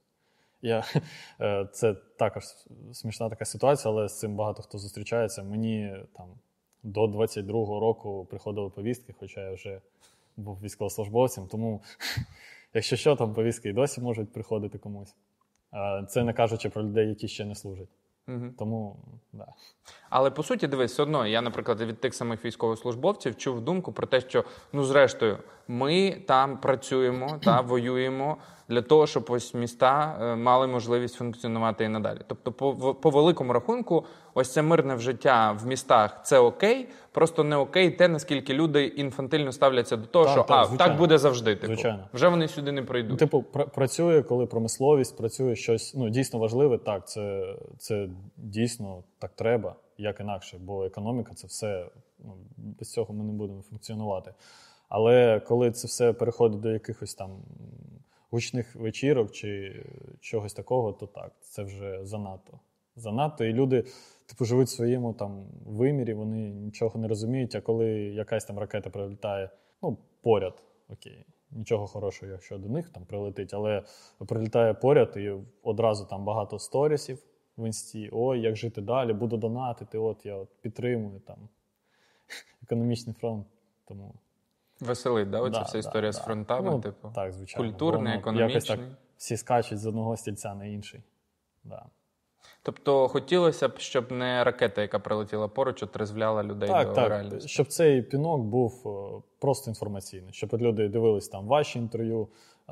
Це також смішна така ситуація, але з цим багато хто зустрічається. Мені там до 22-го року приходили повістки, хоча я вже був військовослужбовцем, тому якщо що, там повістки і досі можуть приходити комусь. Це не кажучи про людей, які ще не служать. Тому, да. Але, по суті, дивись, все одно, я, наприклад, від тих самих військовослужбовців чув думку про те, що, зрештою, ми там працюємо та воюємо для того, щоб ось міста мали можливість функціонувати і надалі. Тобто, по великому рахунку, ось це мирне життя в містах – це окей, просто не окей те, наскільки люди інфантильно ставляться до того, так буде завжди. Звичайно. Вже вони сюди не прийдуть. Працює, коли промисловість, працює щось дійсно важливе, так, це дійсно так треба, як інакше, бо економіка – це все, без цього ми не будемо функціонувати. Але коли це все переходить до якихось там гучних вечірок чи чогось такого, то так, це вже занадто. Занадто, і люди живуть в своєму там вимірі, вони нічого не розуміють, а коли якась там ракета прилітає, поряд, окей, нічого хорошого, якщо до них там прилетить, але прилітає поряд і одразу там багато сторісів в інсті, ой, як жити далі, буду донатити, я підтримую там економічний фронт, тому... Веселить, да? Оця вся історія з фронтами, так, звичайно. Культурний, економічний. Якось так всі скачуть з одного стільця на інший. Да. Тобто хотілося б, щоб не ракета, яка прилетіла поруч, отрезвляла людей до реальності. Щоб цей пінок був просто інформаційний, щоб люди дивились там ваші інтерв'ю,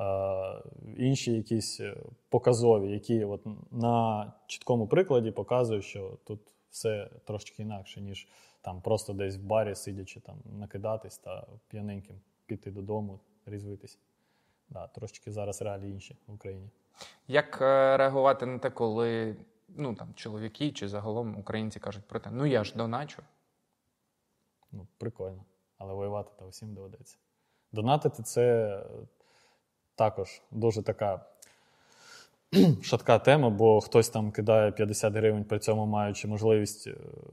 інші якісь показові, які на чіткому прикладі показують, що тут все трошки інакше, ніж там просто десь в барі, сидячи, там накидатись та п'яненьким піти додому, різвитись. Да, трошки зараз реалії інші в Україні. Як реагувати на те, коли чоловіки чи загалом українці кажуть про те, я ж доначу? Прикольно, але воювати то всім доведеться. Донатити – це також дуже така шатка тема, бо хтось там кидає 50 гривень, при цьому маючи можливість,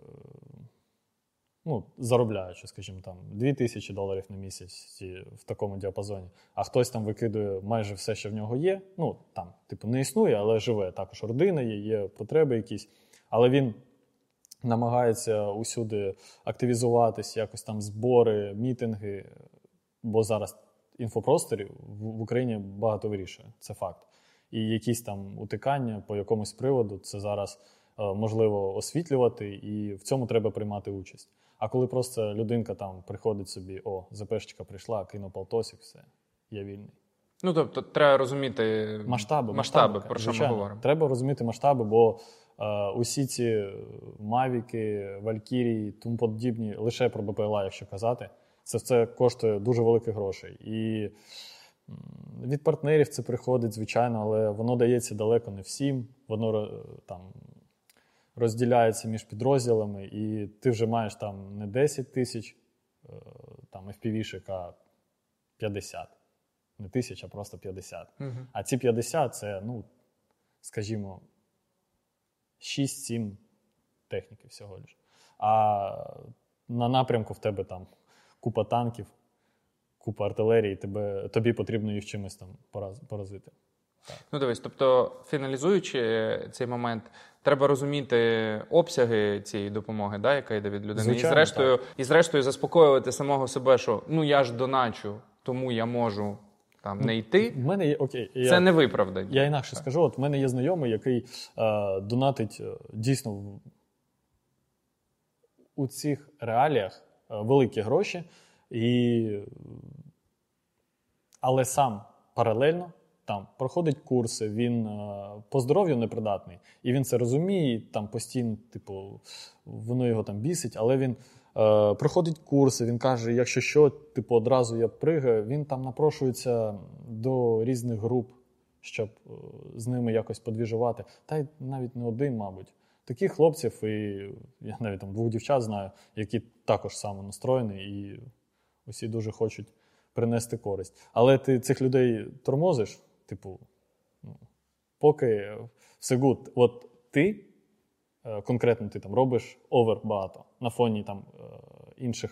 заробляючи, скажімо, там $2000 на місяць в такому діапазоні, а хтось там викидує майже все, що в нього є, не існує, але живе, також родина є потреби якісь, але він намагається усюди активізуватись, якось там збори, мітинги, бо зараз інфопросторів в Україні багато вирішує, це факт. І якісь там утикання по якомусь приводу, це зараз можливо освітлювати, і в цьому треба приймати участь. А коли просто людинка там приходить собі, ЗПшечка прийшла, кинув полтосик, все, я вільний. Тобто треба розуміти масштаби, про що ми говоримо. Треба розуміти масштаби, бо усі ці Мавіки, Валькірії, тому подібні, лише про БПЛА, якщо казати, це все коштує дуже великих грошей. І від партнерів це приходить, звичайно, але воно дається далеко не всім. Воно там розділяється між підрозділами, і ти вже маєш там не 10 тисяч FPV-шек, а 50. Не 1000, а просто 50. Угу. А ці 50 – це, скажімо, 6-7 техніки всього лиш. А на напрямку в тебе там купа танків, купа артилерії, тобі потрібно їх чимось там поразити. Так. Дивись, тобто, фіналізуючи цей момент, треба розуміти обсяги цієї допомоги, яка йде від людини. Звичайно, і зрештою заспокоювати самого себе, що я ж доначу, тому я можу не йти. В мене є, це не виправдання. Я інакше скажу, в мене є знайомий, який донатить дійсно у цих реаліях великі гроші, але сам паралельно там проходить курси, він по здоров'ю непридатний, і він це розуміє, і там постійно, типу, воно його там бісить, але він проходить курси, він каже, якщо що, типу, одразу я пригаю, він там напрошується до різних груп, щоб з ними якось подвіжувати. Та й навіть не один, мабуть. Таких хлопців, і я навіть там 2 дівчат знаю, які також самонастроєні, і усі дуже хочуть принести користь. Але ти цих людей тормозиш, типу, поки все гуд. От ти, конкретно ти там робиш овер багато на фоні там інших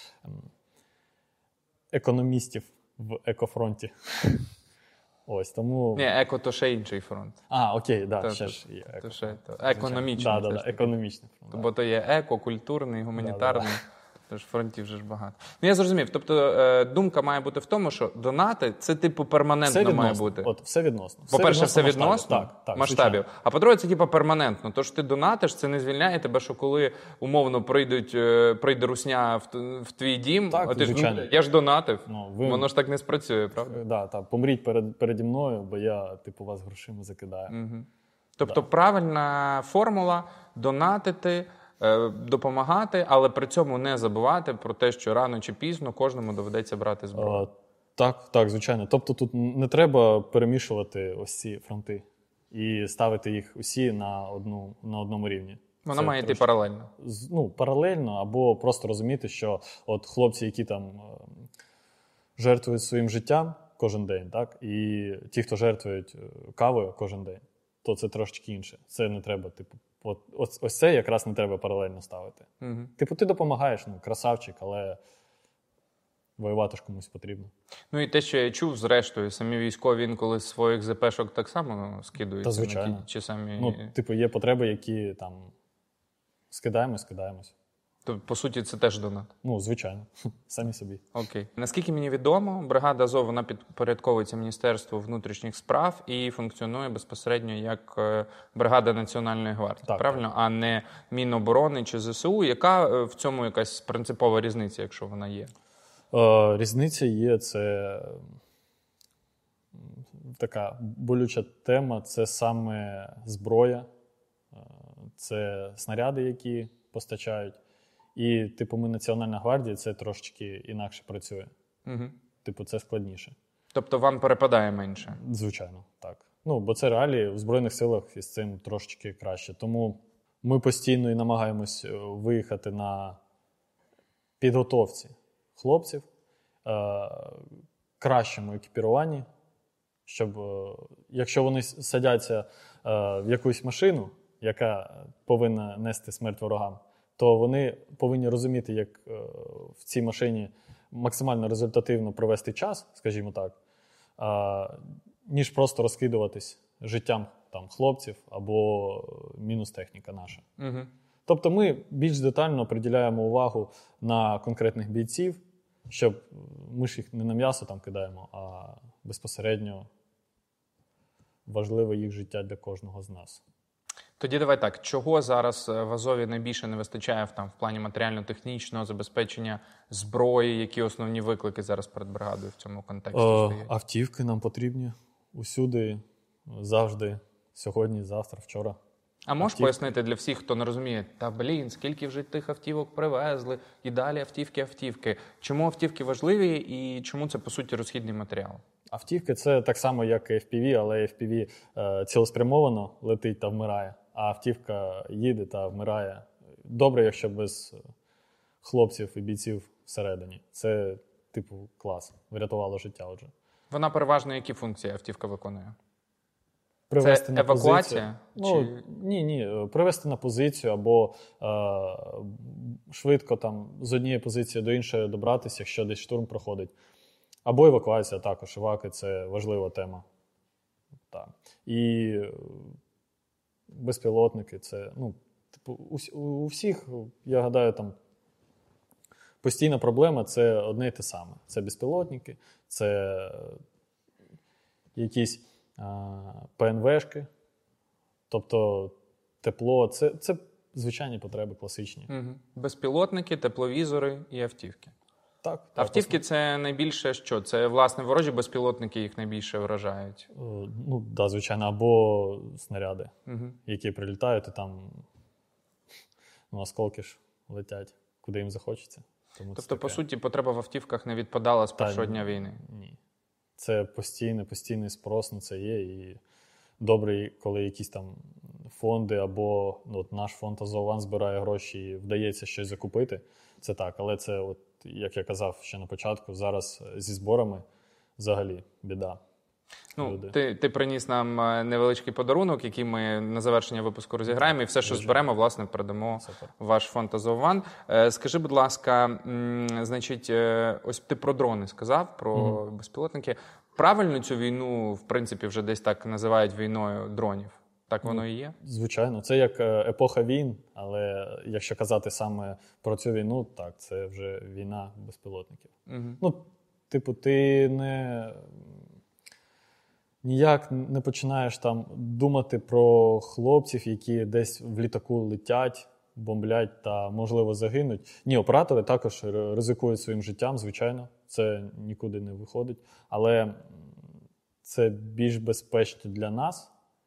економістів в екофронті. Ось, тому... Ні, еко то ще інший фронт. Окей, да, ще ж є еко. То ще, економічний. Да, економічний фронт. Бо то є еко, культурний, гуманітарний. Тож фронтів вже ж багато. Ну, я зрозумів. Тобто думка має бути в тому, що донати – це типу перманентно має бути. От, все відносно. По-перше, все відносно так, масштабів. звичайно. А по-друге, це типу перманентно. Тож ти донатиш, це не звільняє тебе, що коли умовно прийде русня в твій дім, Так, а ти звичайно. ж, я ж донатив. Ви... Воно ж так не спрацює, правда? Да, так, помріть переді мною, бо я, типу, вас грошима закидаю. Угу. Тобто правильна формула – донатити, допомагати, але при цьому не забувати про те, що рано чи пізно кожному доведеться брати зброю. Так, звичайно. Тобто тут не треба перемішувати ось ці фронти і ставити їх усі на одному рівні. Вона має йти паралельно. Паралельно, або просто розуміти, що от хлопці, які там жертвують своїм життям кожен день, так, і ті, хто жертвують кавою кожен день, то це трошечки інше. Це не треба, типу, ось це якраз не треба паралельно ставити. Угу. Типу, ти допомагаєш, красавчик, але воювати ж комусь потрібно. Ну і те, що я чув, зрештою, самі військові інколи з своїх ЗПшок так само скидуються. Та, звичайно. Чи самі... Типу, є потреби, які там скидаємось. То, по суті, це теж донат? Звичайно. Самі собі. Окей. Наскільки мені відомо, бригада Азов, вона підпорядковується Міністерству внутрішніх справ і функціонує безпосередньо як бригада Національної гвардії, так, правильно? Так. А не Міноборони чи ЗСУ. Яка в цьому якась принципова різниця, якщо вона є? Різниця є, це така болюча тема, це саме зброя, це снаряди, які постачають. І, типу, ми Національна гвардія, це трошечки інакше працює. Угу. Типу, це складніше. Тобто вам перепадає менше? Звичайно, так. Бо це реалії в Збройних силах із цим трошечки краще. Тому ми постійно і намагаємось виїхати на підготовці хлопців, кращому екіпіруванні, щоб, якщо вони садяться в якусь машину, яка повинна нести смерть ворогам, то вони повинні розуміти, як в цій машині максимально результативно провести час, скажімо так, ніж просто розкидуватись життям там, хлопців або мінус техніка наша. Угу. Тобто ми більш детально приділяємо увагу на конкретних бійців, щоб ми ж їх не на м'ясо там кидаємо, а безпосередньо важливе їх життя для кожного з нас. Тоді давай так, чого зараз в Азові найбільше не вистачає в плані матеріально-технічного забезпечення зброї, які основні виклики зараз перед бригадою в цьому контексті стоять? Автівки нам потрібні усюди, завжди, сьогодні, завтра, вчора. А можеш пояснити для всіх, хто не розуміє, скільки вже тих автівок привезли, і далі автівки. Чому автівки важливі і чому це, по суті, розхідний матеріал? Автівки – це так само, як і FPV, але FPV цілеспрямовано летить та вмирає, а автівка їде та вмирає. Добре, якщо без хлопців і бійців всередині. Це, типу, клас. Врятувало життя отже. Вона переважно які функції автівка виконує? Привести це на евакуація? позицію. Ні. Привести на позицію або швидко там з однієї позиції до іншої добратися, якщо десь штурм проходить. Або евакуація також. Еваки – це важлива тема. Так. І безпілотники – це, типу, у всіх, я гадаю, там постійна проблема – це одне і те саме. Це безпілотники, це якісь ПНВшки, тобто тепло. Це звичайні потреби класичні. Угу. Безпілотники, тепловізори і автівки. Так. Автівки – це найбільше що? Це, власне, ворожі безпілотники їх найбільше вражають? Ну, да, звичайно, або снаряди, які прилітають, і там осколки ж летять, куди їм захочеться. Тому тобто, по суті, потреба в автівках не відпадала з першого дня війни? Ні. Це постійний спрос на це є. І добре, коли якісь там фонди або наш фонд «Азов-Ан» збирає гроші і вдається щось закупити, це так. Але це, от, як я казав ще на початку, зараз зі зборами взагалі біда. Ну, ти приніс нам невеличкий подарунок, який ми на завершення випуску розіграємо, і все, що зберемо, власне, передамо в ваш фонд «Азов-Ан». Скажи, будь ласка, значить, ось ти про дрони сказав, про безпілотники. Правильно цю війну, в принципі, вже десь так називають війною дронів? Так воно і є? Звичайно. Це як епоха війн, але якщо казати саме про цю війну, так, це вже війна безпілотників. Ну, типу, ти ніяк не починаєш там думати про хлопців, які десь в літаку летять, бомблять та, можливо, загинуть. Ні, оператори також ризикують своїм життям, звичайно, це нікуди не виходить. Але це більш безпечно для нас,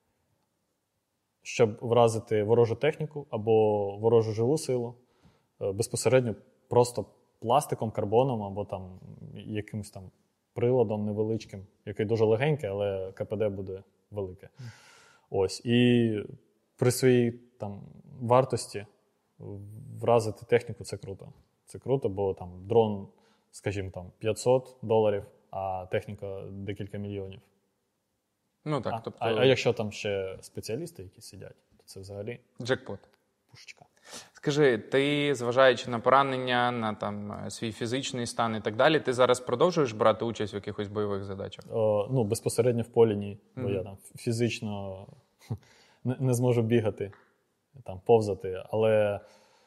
щоб вразити ворожу техніку або ворожу живу силу безпосередньо просто пластиком, карбоном або там якимось там приладом невеличким, який дуже легенький, але КПД буде велике. Ось. І при своїй там вартості вразити техніку – це круто. Це круто, бо там дрон, скажімо, там $500, а техніка декілька мільйонів. Ну так, тобто... А якщо там ще спеціалісти, які сидять, то це взагалі джекпот. Пушечка. Скажи, ти, зважаючи на поранення, на там свій фізичний стан і так далі, ти зараз продовжуєш брати участь в якихось бойових задачах? Ну, безпосередньо в полі ні, бо я там фізично не зможу бігати, там, повзати. Але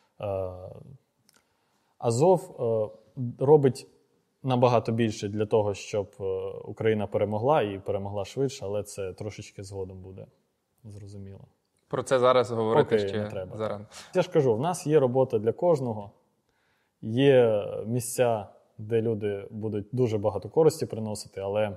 Азов робить набагато більше для того, щоб Україна перемогла і перемогла швидше, але це трошечки згодом буде, зрозуміло. Про це зараз говорити Поки ще не треба. зарано. Я ж кажу, в нас є робота для кожного, є місця, де люди будуть дуже багато користі приносити, але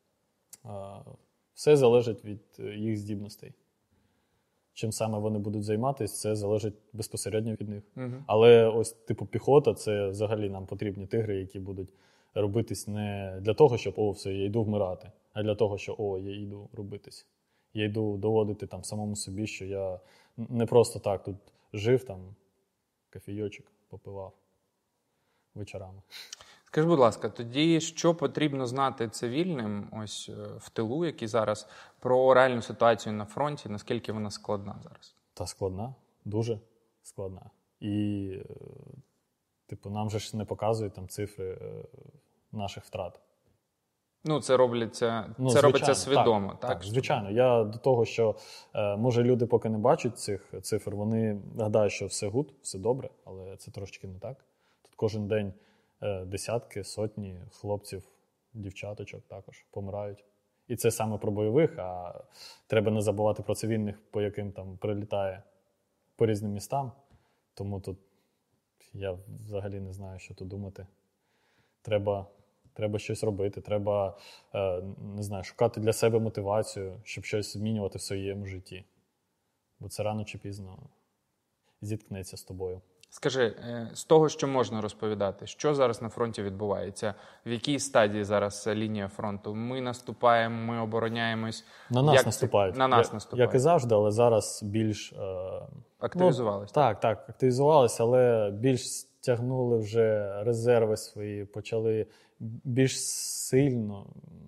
все залежить від їх здібностей. Чим саме вони будуть займатися, це залежить безпосередньо від них. Але ось типу піхота – це взагалі нам потрібні тигри, які будуть робитись не для того, щоб все, я йду вмирати, а для того, що я йду робитись. Я йду доводити там самому собі, що я не просто так тут жив, там кофійочок попивав вечорами. Скажи, будь ласка, тоді що потрібно знати цивільним ось в тилу, які зараз, про реальну ситуацію на фронті, наскільки вона складна зараз? Та складна, дуже складна. І типу нам же ж не показують там цифри наших втрат. Ну, це робиться свідомо, так? Так, звичайно. Я до того, що, може, люди поки не бачать цих цифр, вони гадають, що все гуд, все добре, але це трошечки не так. Тут кожен день десятки, сотні хлопців, дівчаточок також помирають. І це саме про бойових, а треба не забувати про цивільних, по яким там прилітає по різним містам. Тому тут я взагалі не знаю, що тут думати. Треба щось робити, треба, не знаю, шукати для себе мотивацію, щоб щось змінювати в своєму житті. Бо це рано чи пізно зіткнеться з тобою. Скажи, з того, що можна розповідати, що зараз на фронті відбувається? В якій стадії зараз лінія фронту? Ми наступаємо, ми обороняємось? На нас наступають. На нас наступають. Як і завжди, але зараз більш... Активізувалися? Так, активізувалися, але більш стягнули вже резерви свої, почали більш сильно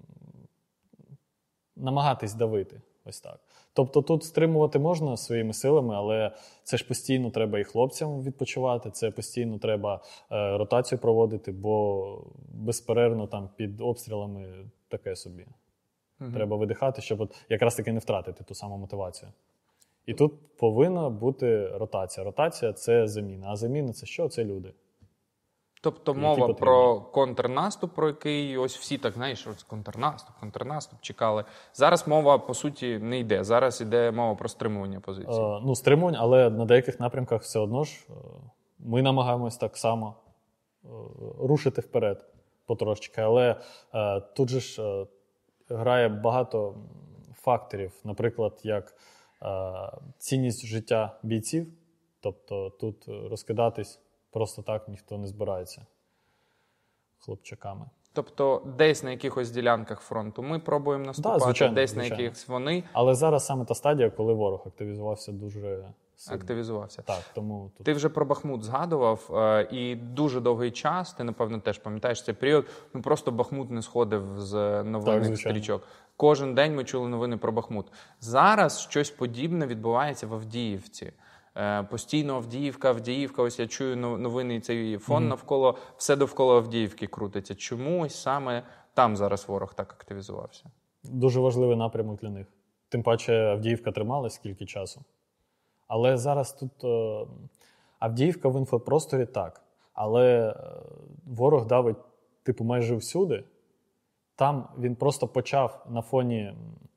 намагатись давити. Ось так. Тобто тут стримувати можна своїми силами, але це ж постійно треба і хлопцям відпочивати, це постійно треба ротацію проводити, бо безперервно там під обстрілами таке собі. Треба видихати, щоб якраз таки не втратити ту саму мотивацію. І тут повинна бути ротація. Ротація – це заміна. А заміна – це що? Це люди. Тобто мова про контрнаступ, про який ось всі так, знаєш, контрнаступ, чекали. Зараз мова, по суті, не йде. Зараз йде мова про стримування позиції. Стримування, але на деяких напрямках все одно ж ми намагаємось так само рушити вперед потрошечки. Але тут же ж грає багато факторів, наприклад, як цінність життя бійців. Тобто тут розкидатись просто так ніхто не збирається хлопчаками. Тобто десь на якихось ділянках фронту ми пробуємо наступати, звичайно, десь звичайно. на якихось вони. Але зараз саме та стадія, коли ворог активізувався дуже сильно. Активізувався. Так, тому тут... Ти вже про Бахмут згадував, і дуже довгий час, ти, напевно, теж пам'ятаєш цей період, просто Бахмут не сходив з новинних стрічок. Кожен день ми чули новини про Бахмут. Зараз щось подібне відбувається в Авдіївці. Постійно Авдіївка, ось я чую новини, цей фон навколо, все довкола Авдіївки крутиться. Чому ось саме там зараз ворог так активізувався? Дуже важливий напрямок для них. Тим паче Авдіївка трималась скільки часу. Але зараз тут Авдіївка в інфопросторі так. Але ворог давить майже всюди. Там він просто почав на фоні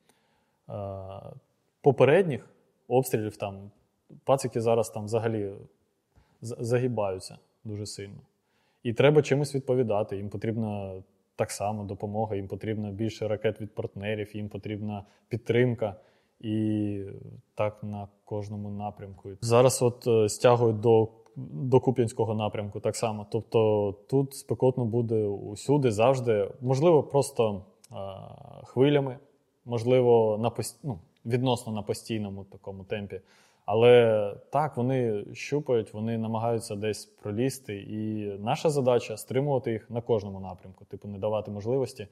попередніх обстрілів там. Пацики зараз там взагалі загибаються дуже сильно. І треба чимось відповідати. Їм потрібна так само допомога, їм потрібно більше ракет від партнерів, їм потрібна підтримка. І так на кожному напрямку. Зараз стягують до Куп'янського напрямку так само. Тобто тут спекотно буде усюди, завжди. Можливо, просто хвилями, можливо, відносно на постійному такому темпі. Але так, вони щупають, вони намагаються десь пролізти. І наша задача – стримувати їх на кожному напрямку. Не давати можливості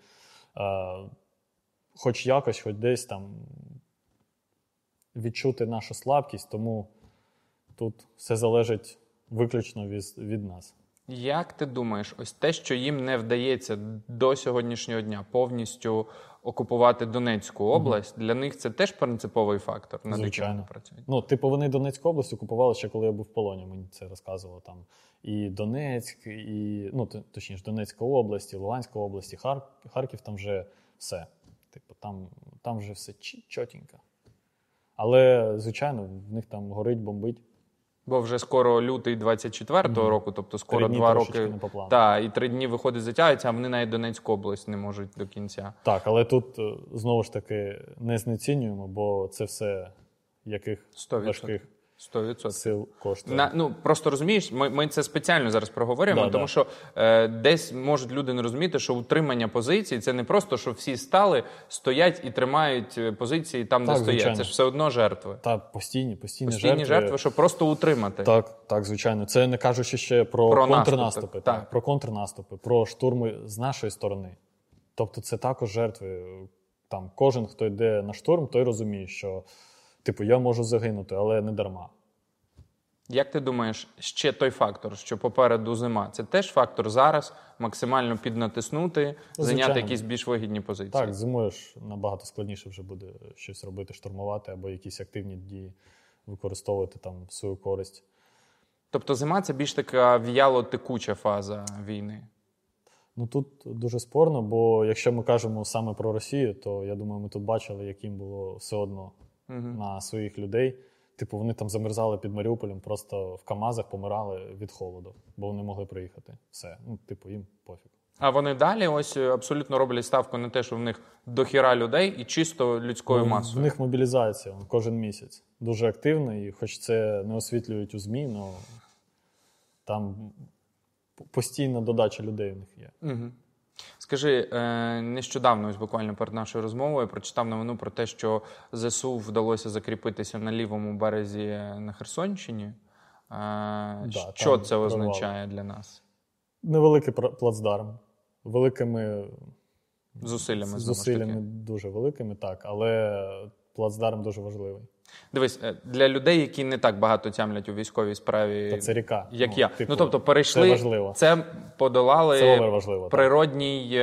хоч якось, хоч десь там відчути нашу слабкість. Тому тут все залежить виключно від нас. Як ти думаєш, ось те, що їм не вдається до сьогоднішнього дня повністю окупувати Донецьку область, для них це теж принциповий фактор, над яким вони працюють? Вони Донецьку область окупували ще коли я був в полоні, мені це розказувало там. І Донецьк, і, точніше, Донецька область, і Луганська область, і Харків, там вже все. Там вже все чотенько. Але, звичайно, в них там горить, бомбить. Бо вже скоро лютий 24-го року, тобто скоро 2 роки. І 3 дні виходить, затягується, а вони навіть Донецьку область не можуть до кінця. Так, але тут, знову ж таки, не знецінюємо, бо це все яких 100%. важких 100%. сил коштує. Просто розумієш, ми це спеціально зараз проговорюємо, тому що десь можуть люди не розуміти, що утримання позицій – це не просто, що всі стали, стоять і тримають позиції там, де стоять. Звичайно. Це ж все одно жертви. Так, постійні жертви, щоб просто утримати. Так, звичайно. Це не кажучи ще про контрнаступи. Про контрнаступи, про штурми з нашої сторони. Тобто це також жертви. Там кожен, хто йде на штурм, той розуміє, що я можу загинути, але не дарма. Як ти думаєш, ще той фактор, що попереду зима, це теж фактор зараз максимально піднатиснути, зайняти якісь більш вигідні позиції? Так, зимою ж набагато складніше вже буде щось робити, штурмувати або якісь активні дії використовувати там в свою користь. Тобто зима – це більш така в'яло-текуча фаза війни? Тут дуже спорно, бо якщо ми кажемо саме про Росію, то, я думаю, ми тут бачили, яким було все одно на своїх людей. Вони там замерзали під Маріуполем, просто в КАМАЗах помирали від холоду, бо вони могли приїхати. Все. Їм пофіг. А вони далі ось абсолютно роблять ставку на те, що в них дохіра людей і чисто людською масою. В них мобілізація кожен місяць. Дуже активна, і хоч це не освітлюють у ЗМІ, але там постійна додача людей в них є. Угу. Скажи, нещодавно, ось буквально перед нашою розмовою, прочитав новину про те, що ЗСУ вдалося закріпитися на лівому березі на Херсонщині. Що це означає для нас? Невеликий плацдарм. Великими зусиллями дуже великими, так. Але плацдарм дуже важливий. Дивись, для людей, які не так багато тямлять у військовій справі, та це ріка. Як я. Тобто перейшли, це подолали природній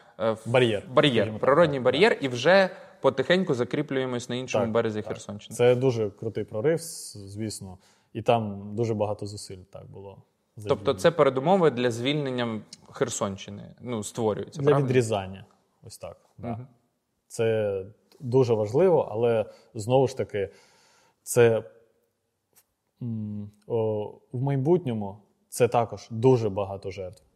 бар'єр, і вже потихеньку закріплюємось на іншому березі Херсонщини. Це дуже крутий прорив, звісно, і там дуже багато зусиль було. Тобто це передумови для звільнення Херсонщини, створюються, для правильно? Відрізання, ось так. Да. Це дуже важливо, але, знову ж таки, це в майбутньому це також дуже багато жертв.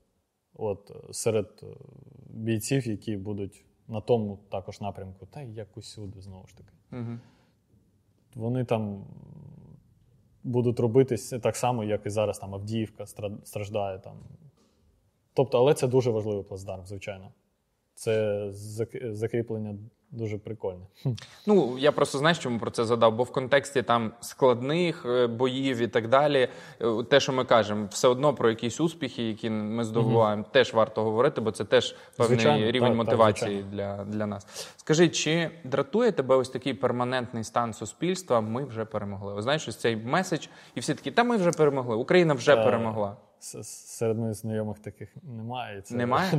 от, серед бійців, які будуть на тому також напрямку, та й як усюди, знову ж таки. Угу. Вони там будуть робитись так само, як і зараз там Авдіївка страждає. Там. Тобто, але це дуже важливий плацдарм, звичайно. Це закріплення дуже прикольне. Ну, я просто, знаєш, чому про це задав? Бо в контексті там складних боїв і так далі, те, що ми кажемо, все одно про якісь успіхи, які ми здобуваємо, теж варто говорити, бо це теж певний Звичайно, рівень мотивації звичайно. для нас. Скажи, чи дратує тебе ось такий перманентний стан суспільства «ми вже перемогли»? Ось знаєш, ось цей меседж, і всі такі, та ми вже перемогли, Україна вже перемогла. Серед моїх знайомих таких немає. Це Немає?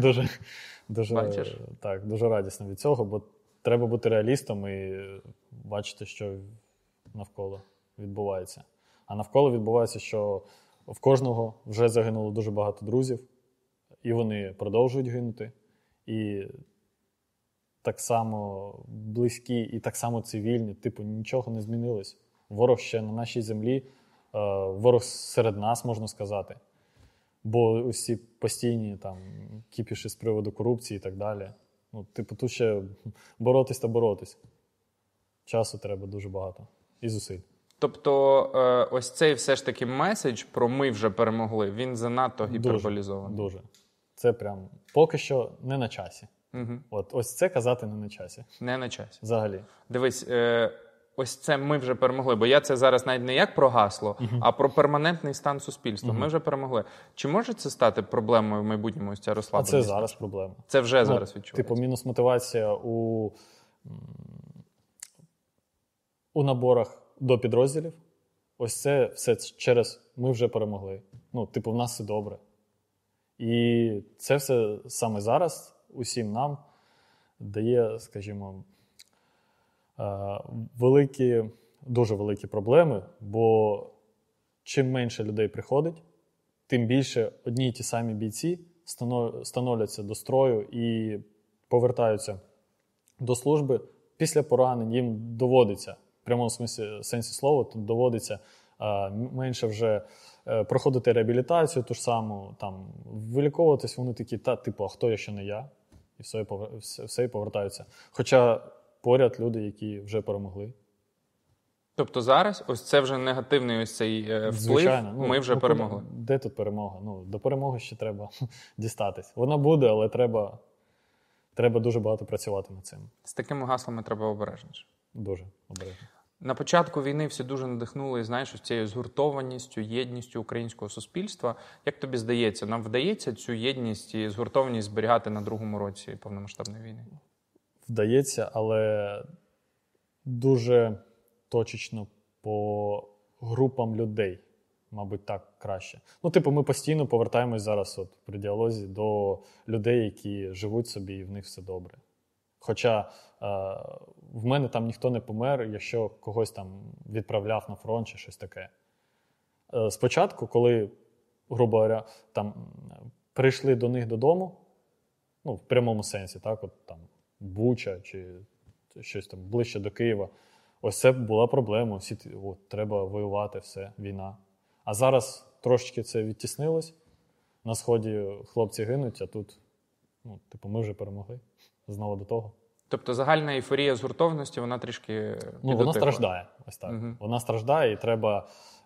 дуже радісно від цього, бо треба бути реалістом і бачити, що навколо відбувається. А навколо відбувається, що в кожного вже загинуло дуже багато друзів, і вони продовжують гинути. І так само близькі, і так само цивільні. Типу, нічого не змінилось. Ворог ще на нашій землі, ворог серед нас, можна сказати. Бо усі постійні там кіпіші з приводу корупції і так далі. Ну, типу, тут ще боротись та боротись. Часу треба дуже багато. І зусиль. Тобто, ось цей все ж таки меседж про «ми вже перемогли», він занадто гіперболізований. Дуже. Це прям поки що не на часі. Угу. Ось це казати не на часі. Не на часі. Взагалі. Дивись, ось це «ми вже перемогли», бо я це зараз навіть не як про гасло, а про перманентний стан суспільства. Ми вже перемогли. Чи може це стати проблемою в майбутньому, ось ця розслабленість? А це зараз проблема. Це вже зараз відчувається? Типу, мінус мотивація у наборах до підрозділів. Ось це все через «ми вже перемогли». Ну, типу, в нас все добре. І це все саме зараз усім нам дає, скажімо, дуже великі проблеми, бо чим менше людей приходить, тим більше одні й ті самі бійці становляться до строю і повертаються до служби. Після поранень їм доводиться, в прямому сенсі слова, тут доводиться менше вже проходити реабілітацію ту ж саму, там, виліковуватись, вони такі, типу, а хто, якщо не я? І все, і повертаються. Хоча поряд люди, які вже перемогли. Тобто зараз ось це вже негативний ось цей вплив, звичайно, ми вже перемогли. Де тут перемога? Ну, до перемоги ще треба дістатись. Вона буде, але треба дуже багато працювати над цим. З такими гаслами треба обережніше. Дуже обережно. На початку війни всі дуже надихнули, знаєш, ось цією згуртованістю, єдністю українського суспільства. Як тобі здається, нам вдається цю єдність і згуртованість зберігати на другому році повномасштабної війни? Вдається, але дуже точечно по групам людей, мабуть, так краще. Ну, типу, ми постійно повертаємось зараз от при діалозі до людей, які живуть собі і в них все добре. Хоча в мене там ніхто не помер, якщо когось там відправляв на фронт чи щось таке. Спочатку, коли, грубо говоря, там прийшли до них додому, ну, в прямому сенсі, так, от там Буча чи щось там ближче до Києва, ось це була проблема, всі, от, треба воювати, все, війна. А зараз трошечки це відтіснилось, на Сході хлопці гинуть, а тут, ну, типу, ми вже перемогли. Знову до того. Тобто загальна ейфорія згуртовності, вона трішки вона страждає. Ось так. Угу. Вона страждає, і треба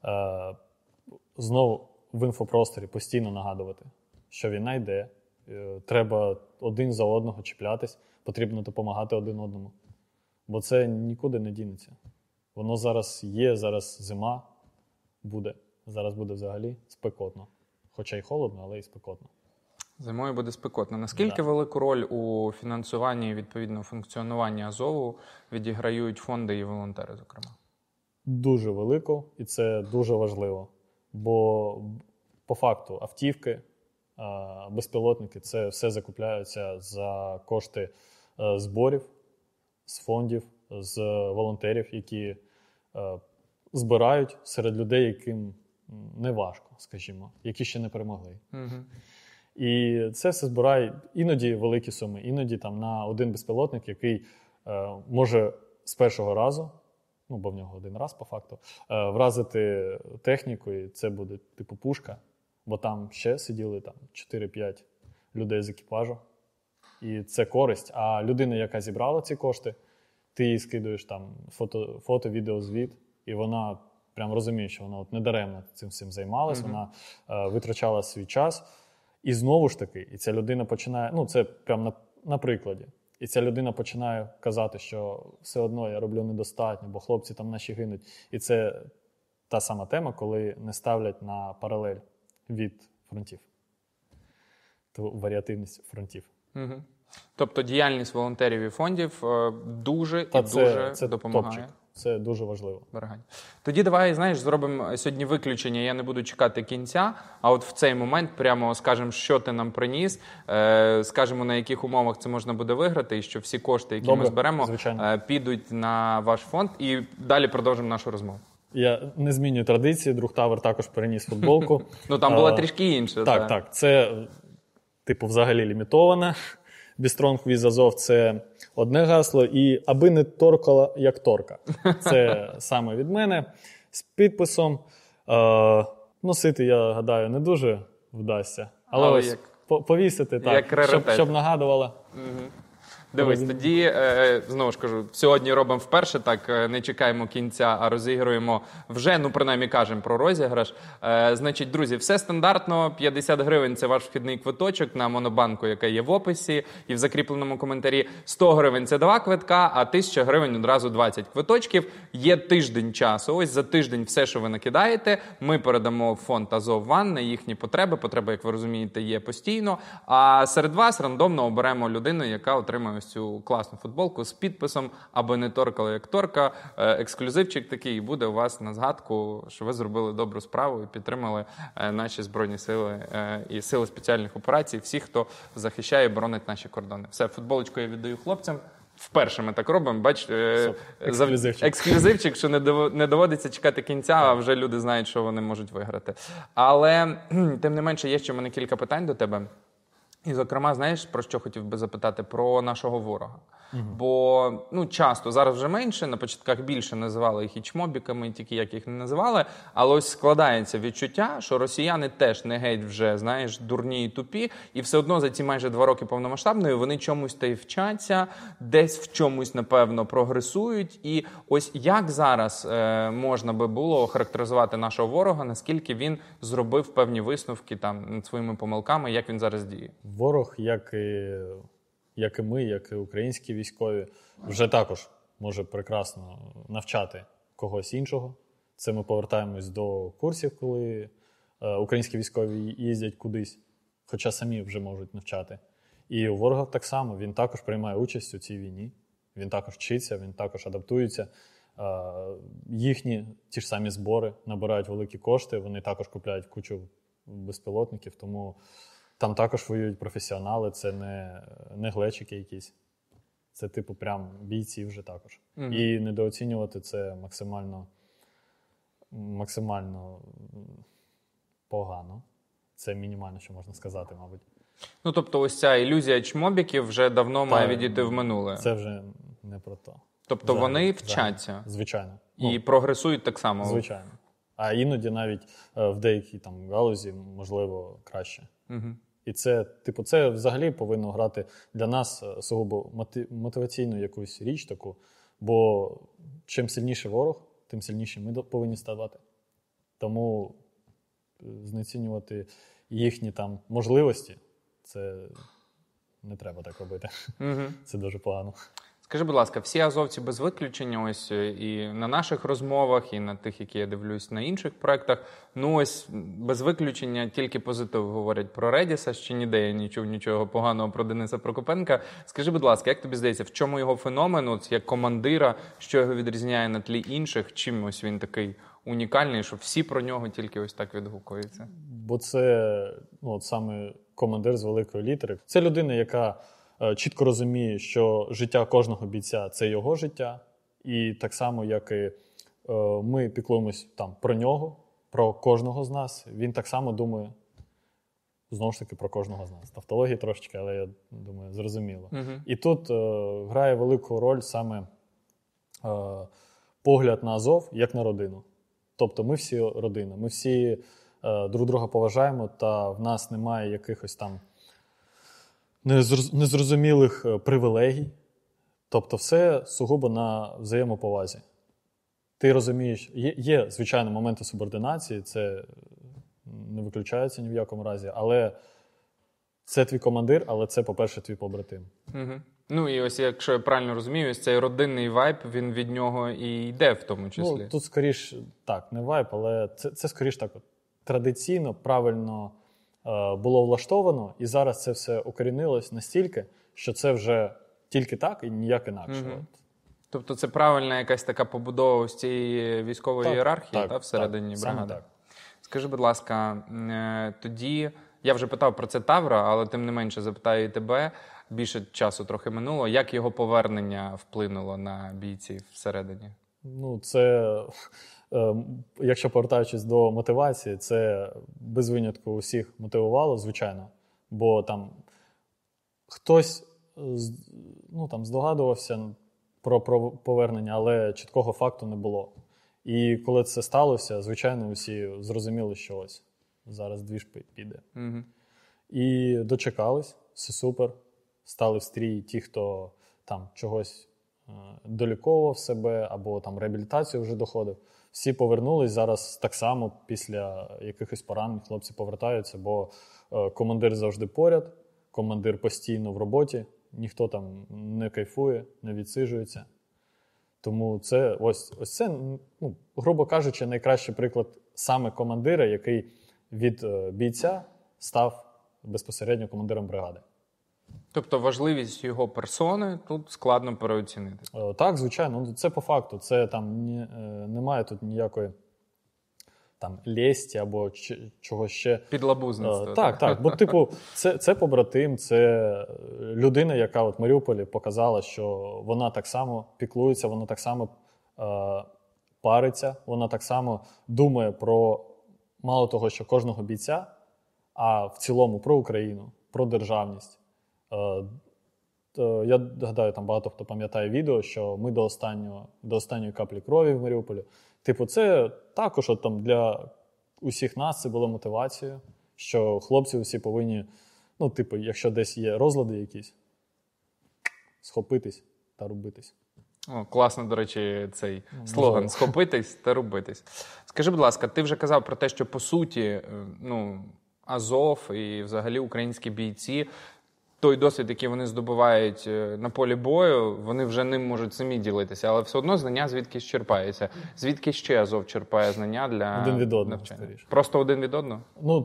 знову в інфопросторі постійно нагадувати, що війна йде, треба один за одного чіплятись, потрібно допомагати один одному. Бо це нікуди не дінеться. Воно зараз є, зараз зима буде. Зараз буде взагалі спекотно. Хоча й холодно, але й спекотно. Зимою буде спекотно. Наскільки велику роль у фінансуванні і, відповідно, функціонуванні Азову відіграють фонди і волонтери, зокрема? Дуже велику, і це дуже важливо. Бо, по факту, автівки, безпілотники – це все закупляються за кошти зборів, з фондів, з волонтерів, які збирають серед людей, яким не важко, скажімо, які ще не перемогли. Угу. І це все збирає іноді великі суми, іноді там на один безпілотник, який може з першого разу, ну, бо в нього один раз по факту, вразити техніку, і це буде типу пушка, бо там ще сиділи там 4-5 людей з екіпажу. І це користь. А людина, яка зібрала ці кошти, ти їй скидуєш там фото, відео, звіт, і вона прям розуміє, що вона не даремно цим всім займалась, вона витрачала свій час. І знову ж таки, і ця людина починає, це прям на прикладі. І ця людина починає казати, що все одно я роблю недостатньо, бо хлопці там наші гинуть. І це та сама тема, коли не ставлять на паралель від фронтів. Ту варіативність фронтів. Угу. Тобто діяльність волонтерів і фондів дуже це допомагає. Топчик. Це дуже важливо. Тоді давай, зробимо сьогодні виключення. Я не буду чекати кінця, а от в цей момент прямо скажемо, що ти нам приніс, скажемо, на яких умовах це можна буде виграти, і що всі кошти, які ми зберемо, підуть на ваш фонд. І далі продовжимо нашу розмову. Я не змінюю традиції, друг Тавер також переніс футболку. Там була трішки інша. Так. Це, взагалі лімітоване. Бістронг With Азов – це одне гасло, і аби не торкала, як торка. Це саме від мене, з підписом. Носити, я гадаю, не дуже вдасться. Але ось повісити так, щоб нагадувало. Угу. Дивись, тоді, знову ж кажу, сьогодні робимо вперше, так, не чекаємо кінця, а розігруємо вже, принаймні кажемо про розіграш. Значить, друзі, все стандартно, 50 гривень – це ваш вхідний квиточок на монобанку, яка є в описі і в закріпленому коментарі. 100 гривень – це 2 квитка, а 1000 гривень – одразу 20 квиточків. Є тиждень часу. Ось за тиждень все, що ви накидаєте, ми передамо в фонд Азов Ван на їхні потреби. Потреби, як ви розумієте, є постійно. А серед вас рандомно оберемо людину, яка отримає цю класну футболку з підписом «Аби не торкало, як торка». Ексклюзивчик такий, і буде у вас на згадку, що ви зробили добру справу і підтримали наші Збройні Сили і Сили спеціальних операцій, всіх, хто захищає і боронить наші кордони. Все, футболочку я віддаю хлопцям. Вперше ми так робимо, бачите, ексклюзивчик, що не доводиться чекати кінця, а вже люди знають, що вони можуть виграти. Але, тим не менше, є ще в мене кілька питань до тебе. І, зокрема, знаєш, про що хотів би запитати? Про нашого ворога. Бо, часто, зараз вже менше, на початках більше називали їх і чмобіками, тільки як їх не називали, але ось складається відчуття, що росіяни теж не геть вже, знаєш, дурні і тупі, і все одно за ці майже 2 роки повномасштабної вони чомусь та й вчаться, десь в чомусь, напевно, прогресують. І ось як зараз можна би було охарактеризувати нашого ворога, наскільки він зробив певні висновки там над своїми помилками, як він зараз діє? Ворог, як і ми, як і українські військові, вже також може прекрасно навчати когось іншого. Це ми повертаємось до курсів, коли українські військові їздять кудись, хоча самі вже можуть навчати. І у ворога так само, він також приймає участь у цій війні, він також вчиться, він також адаптується. Їхні ті ж самі збори набирають великі кошти, вони також купляють кучу безпілотників, тому там також воюють професіонали, це не глечики якісь. Це прям бійці вже також. І недооцінювати це максимально погано. Це мінімально, що можна сказати, мабуть. Тобто ось ця ілюзія чмобіків вже давно має відійти в минуле. Це вже не про то. Тобто вони вчаться? Звичайно. І прогресують так само? Звичайно. А іноді навіть в деякій галузі, можливо, краще. І це взагалі повинно грати для нас сугубо мотиваційну якусь річ таку, бо чим сильніший ворог, тим сильніші ми повинні ставати. Тому знецінювати їхні можливості, це не треба так робити. Це дуже погано. Скажи, будь ласка, всі азовці без виключення, ось і на наших розмовах, і на тих, які я дивлюсь на інших проєктах, ось без виключення тільки позитив говорять про Редіса, ще ніде я не чув нічого поганого про Дениса Прокопенка. Скажи, будь ласка, як тобі здається, в чому його феномен, як командира, що його відрізняє на тлі інших, чим ось він такий унікальний, що всі про нього тільки ось так відгукуються? Бо це саме командир з великої літери. Це людина, яка чітко розуміє, що життя кожного бійця – це його життя. І так само, як і ми піклуємось про нього, про кожного з нас, він так само думає, знову ж таки, про кожного з нас. Тавтології трошечки, але я думаю, зрозуміло. І тут грає велику роль саме погляд на Азов, як на родину. Тобто ми всі родина, ми всі друг друга поважаємо, та в нас немає якихось незрозумілих привілегій. Тобто все сугубо на взаємоповазі. Ти розумієш, є звичайно, моменти субординації, це не виключається ні в якому разі, але це твій командир, але це, по-перше, твій побратим. Угу. Ну і ось, якщо я правильно розумію, ось цей родинний вайб, він від нього і йде в тому числі. Ну, тут скоріш, так, не вайб, але це скоріш так, традиційно, правильно було влаштовано, і зараз це все укорінилось настільки, що це вже тільки так і ніяк інакше. Угу. Тобто це правильна якась така побудова ось цієї військової ієрархії всередині бригади? Так. Скажи, будь ласка, тоді, я вже питав про це Тавра, але тим не менше запитаю і тебе, більше часу трохи минуло, як його повернення вплинуло на бійців всередині? Ну, це, якщо повертаючись до мотивації, це без винятку усіх мотивувало, звичайно, бо там хтось здогадувався про повернення, але чіткого факту не було. І коли це сталося, звичайно, усі зрозуміли, що ось зараз двіж піде. Угу. І дочекались, все супер. Стали в стрій ті, хто там чогось доліковував себе або там реабілітацію вже доходив. Всі повернулись, зараз так само після якихось поранень хлопці повертаються, бо командир завжди поряд, командир постійно в роботі, ніхто там не кайфує, не відсиджується. Тому це ось це, грубо кажучи, найкращий приклад саме командира, який від бійця став безпосередньо командиром бригади. Тобто важливість його персони тут складно переоцінити? Так, звичайно. Це по факту. Це там немає тут ніякої там лєсті або чогось ще. Підлабузництва. Так. Бо, типу, це побратим, це людина, яка от в Маріуполі показала, що вона так само піклується, вона так само париться, вона так само думає про, мало того, що кожного бійця, а в цілому про Україну, про державність. Я гадаю, там багато хто пам'ятає відео, що ми до останньої каплі крові в Маріуполі. Типу, це також от, там, для усіх нас це було мотивацією, що хлопці усі повинні, якщо десь є розлади якісь, схопитись та рубитись. О, класно, до речі, цей слоган «Схопитись та рубитись». Скажи, будь ласка, ти вже казав про те, що, по суті, Азов і взагалі українські бійці, той досвід, який вони здобувають на полі бою, вони вже ним можуть самі ділитися, але все одно знання звідкись черпається. Звідки ще Азов черпає знання для один від одного, навчання? скоріше. Просто один від одного?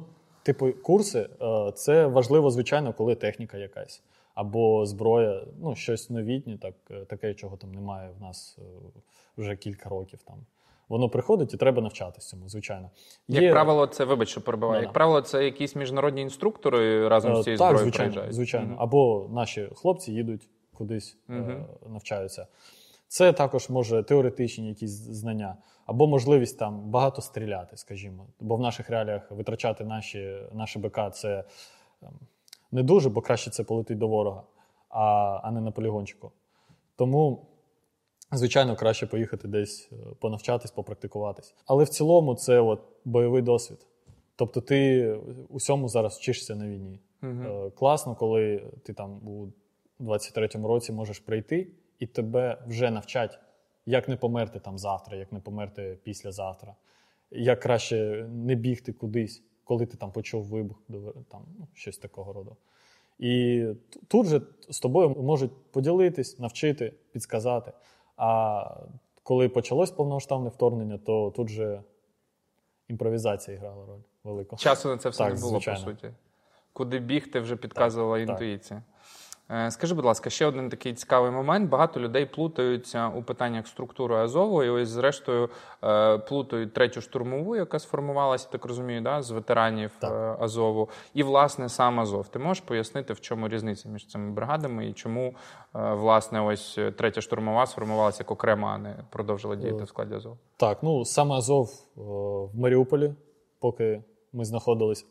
Курси – це важливо, звичайно, коли техніка якась. Або зброя, щось новітнє, таке, чого там немає в нас вже кілька років. Там. Воно приходить і треба навчатися цьому, звичайно. Як правило, це, вибач, що перебиваю, як правило, це якісь міжнародні інструктори разом з цією зброєю приїжджають? Так, звичайно. Або наші хлопці їдуть кудись, навчаються. Це також може теоретичні якісь знання, або можливість там багато стріляти, скажімо. Бо в наших реаліях витрачати наші БК – це не дуже, бо краще це полетить до ворога, а не на полігончику. Тому, звичайно, краще поїхати десь понавчатись, попрактикуватись. Але в цілому це бойовий досвід. Тобто ти усьому зараз вчишся на війні. Класно, коли ти там у 23-му році можеш прийти і тебе вже навчать, як не померти там завтра, як не померти післязавтра, як краще не бігти кудись, коли ти там почув вибух, там, щось такого роду. І тут же з тобою можуть поділитись, навчити, підсказати. А коли почалось повномасштабне вторгнення, то тут же імпровізація грала роль велику. Часу на це все так, не було, звичайно. по суті. Куди бігти, вже підказувала інтуїція. Скажи, будь ласка, ще один такий цікавий момент. Багато людей плутаються у питаннях структури Азову, і ось, зрештою, плутають 3-ю штурмову, яка сформувалася, так розумію, з ветеранів Азову, і, власне, сам Азов. Ти можеш пояснити, в чому різниця між цими бригадами і чому, власне, ось 3-я штурмова сформувалася як окрема, а не продовжила діяти в складі Азову? Так, саме Азов в Маріуполі, поки ми знаходились,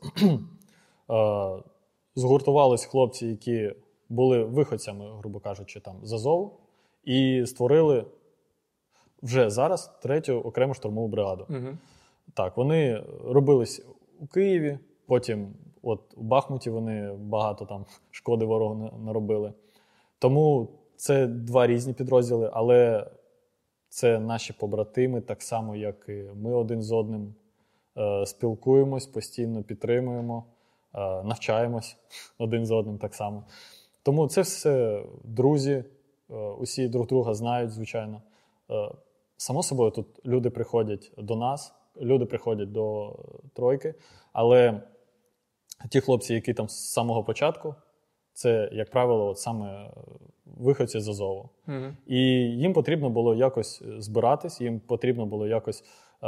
згуртувались хлопці, які були виходцями, грубо кажучи, там, з Азову, і створили вже зараз 3-ю окрему штурмову бригаду. Так, вони робились у Києві, потім От у Бахмуті вони багато там шкоди ворогу наробили. Тому це два різні підрозділи, але це наші побратими, так само, як і ми один з одним спілкуємось, постійно підтримуємо, навчаємось один з одним так само. Тому це все друзі, усі друг друга знають, звичайно. Само собою, тут люди приходять до нас, люди приходять до тройки, але ті хлопці, які там з самого початку, це, як правило, от саме виходці з Азову. І їм потрібно було якось збиратись, їм потрібно було якось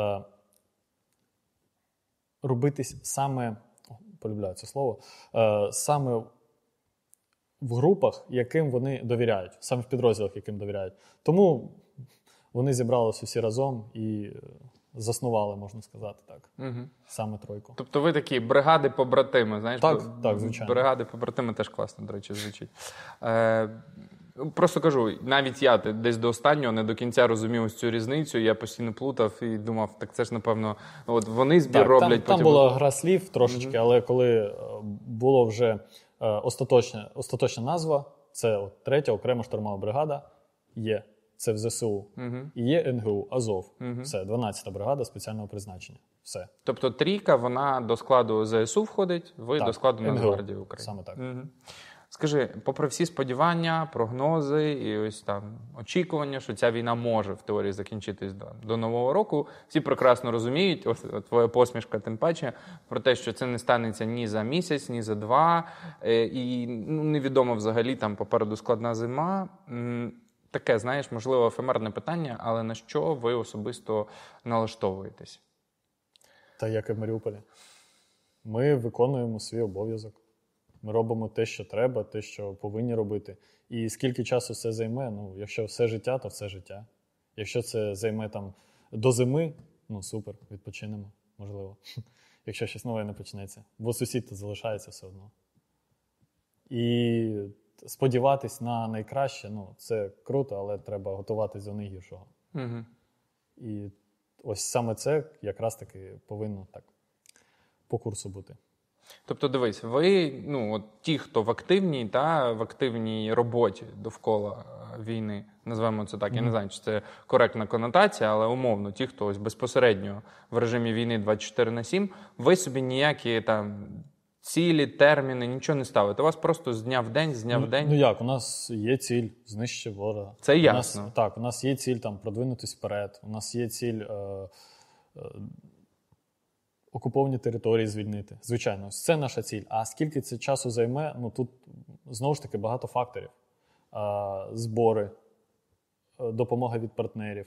робитись саме, полюбляю це слово, саме в групах, яким вони довіряють, саме в підрозділах, яким довіряють. Тому вони зібралися всі разом і заснували, можна сказати так, саме тройку. Тобто ви такі бригади-побратими, знаєш? Так, звичайно. Бригади-побратими теж класно, до речі, звучить. Просто кажу, навіть я десь до останнього не до кінця розумів ось цю різницю, я постійно плутав і думав, так це ж, напевно, от вони збір роблять. Там була гра слів трошечки, але коли було вже остаточна назва, це от 3-я окрема штурмова бригада є. Це в ЗСУ. І є НГУ, Азов. Все, 12-та бригада спеціального призначення. Все. Тобто трійка, вона до складу ЗСУ входить, ви так, до складу Нацгвардії України. Саме так. Скажи, попри всі сподівання, прогнози і ось там очікування, що ця війна може в теорії закінчитись до Нового року, всі прекрасно розуміють, ось твоя посмішка тим паче, про те, що це не станеться ні за місяць, ні за два, і невідомо взагалі, там попереду складна зима. Таке, знаєш, можливо, ефемерне питання, але на що ви особисто налаштовуєтесь? Та як і в Маріуполі. Ми виконуємо свій обов'язок. Ми робимо те, що треба, те, що повинні робити. І скільки часу це займе? Якщо все життя, то все життя. Якщо це займе там до зими, супер, відпочинемо, можливо. Якщо щось нове не почнеться. Бо сусід то залишається все одно. І сподіватись на найкраще, це круто, але треба готуватись до найгіршого. І ось саме це якраз таки повинно так по курсу бути. Тобто, дивись, ви, ті, хто в активній роботі довкола війни, називаємо це так, я не знаю, чи це коректна конотація, але умовно, ті, хто ось безпосередньо в режимі війни 24/7, ви собі ніякі там цілі, терміни, нічого не ставите. У вас просто з дня в день, Як? У нас є ціль знищити ворога. Це ясно. У нас є ціль там продвинутись вперед. У нас є ціль окуповані території звільнити. Звичайно, це наша ціль. А скільки це часу займе, тут знову ж таки багато факторів. Збори, допомога від партнерів.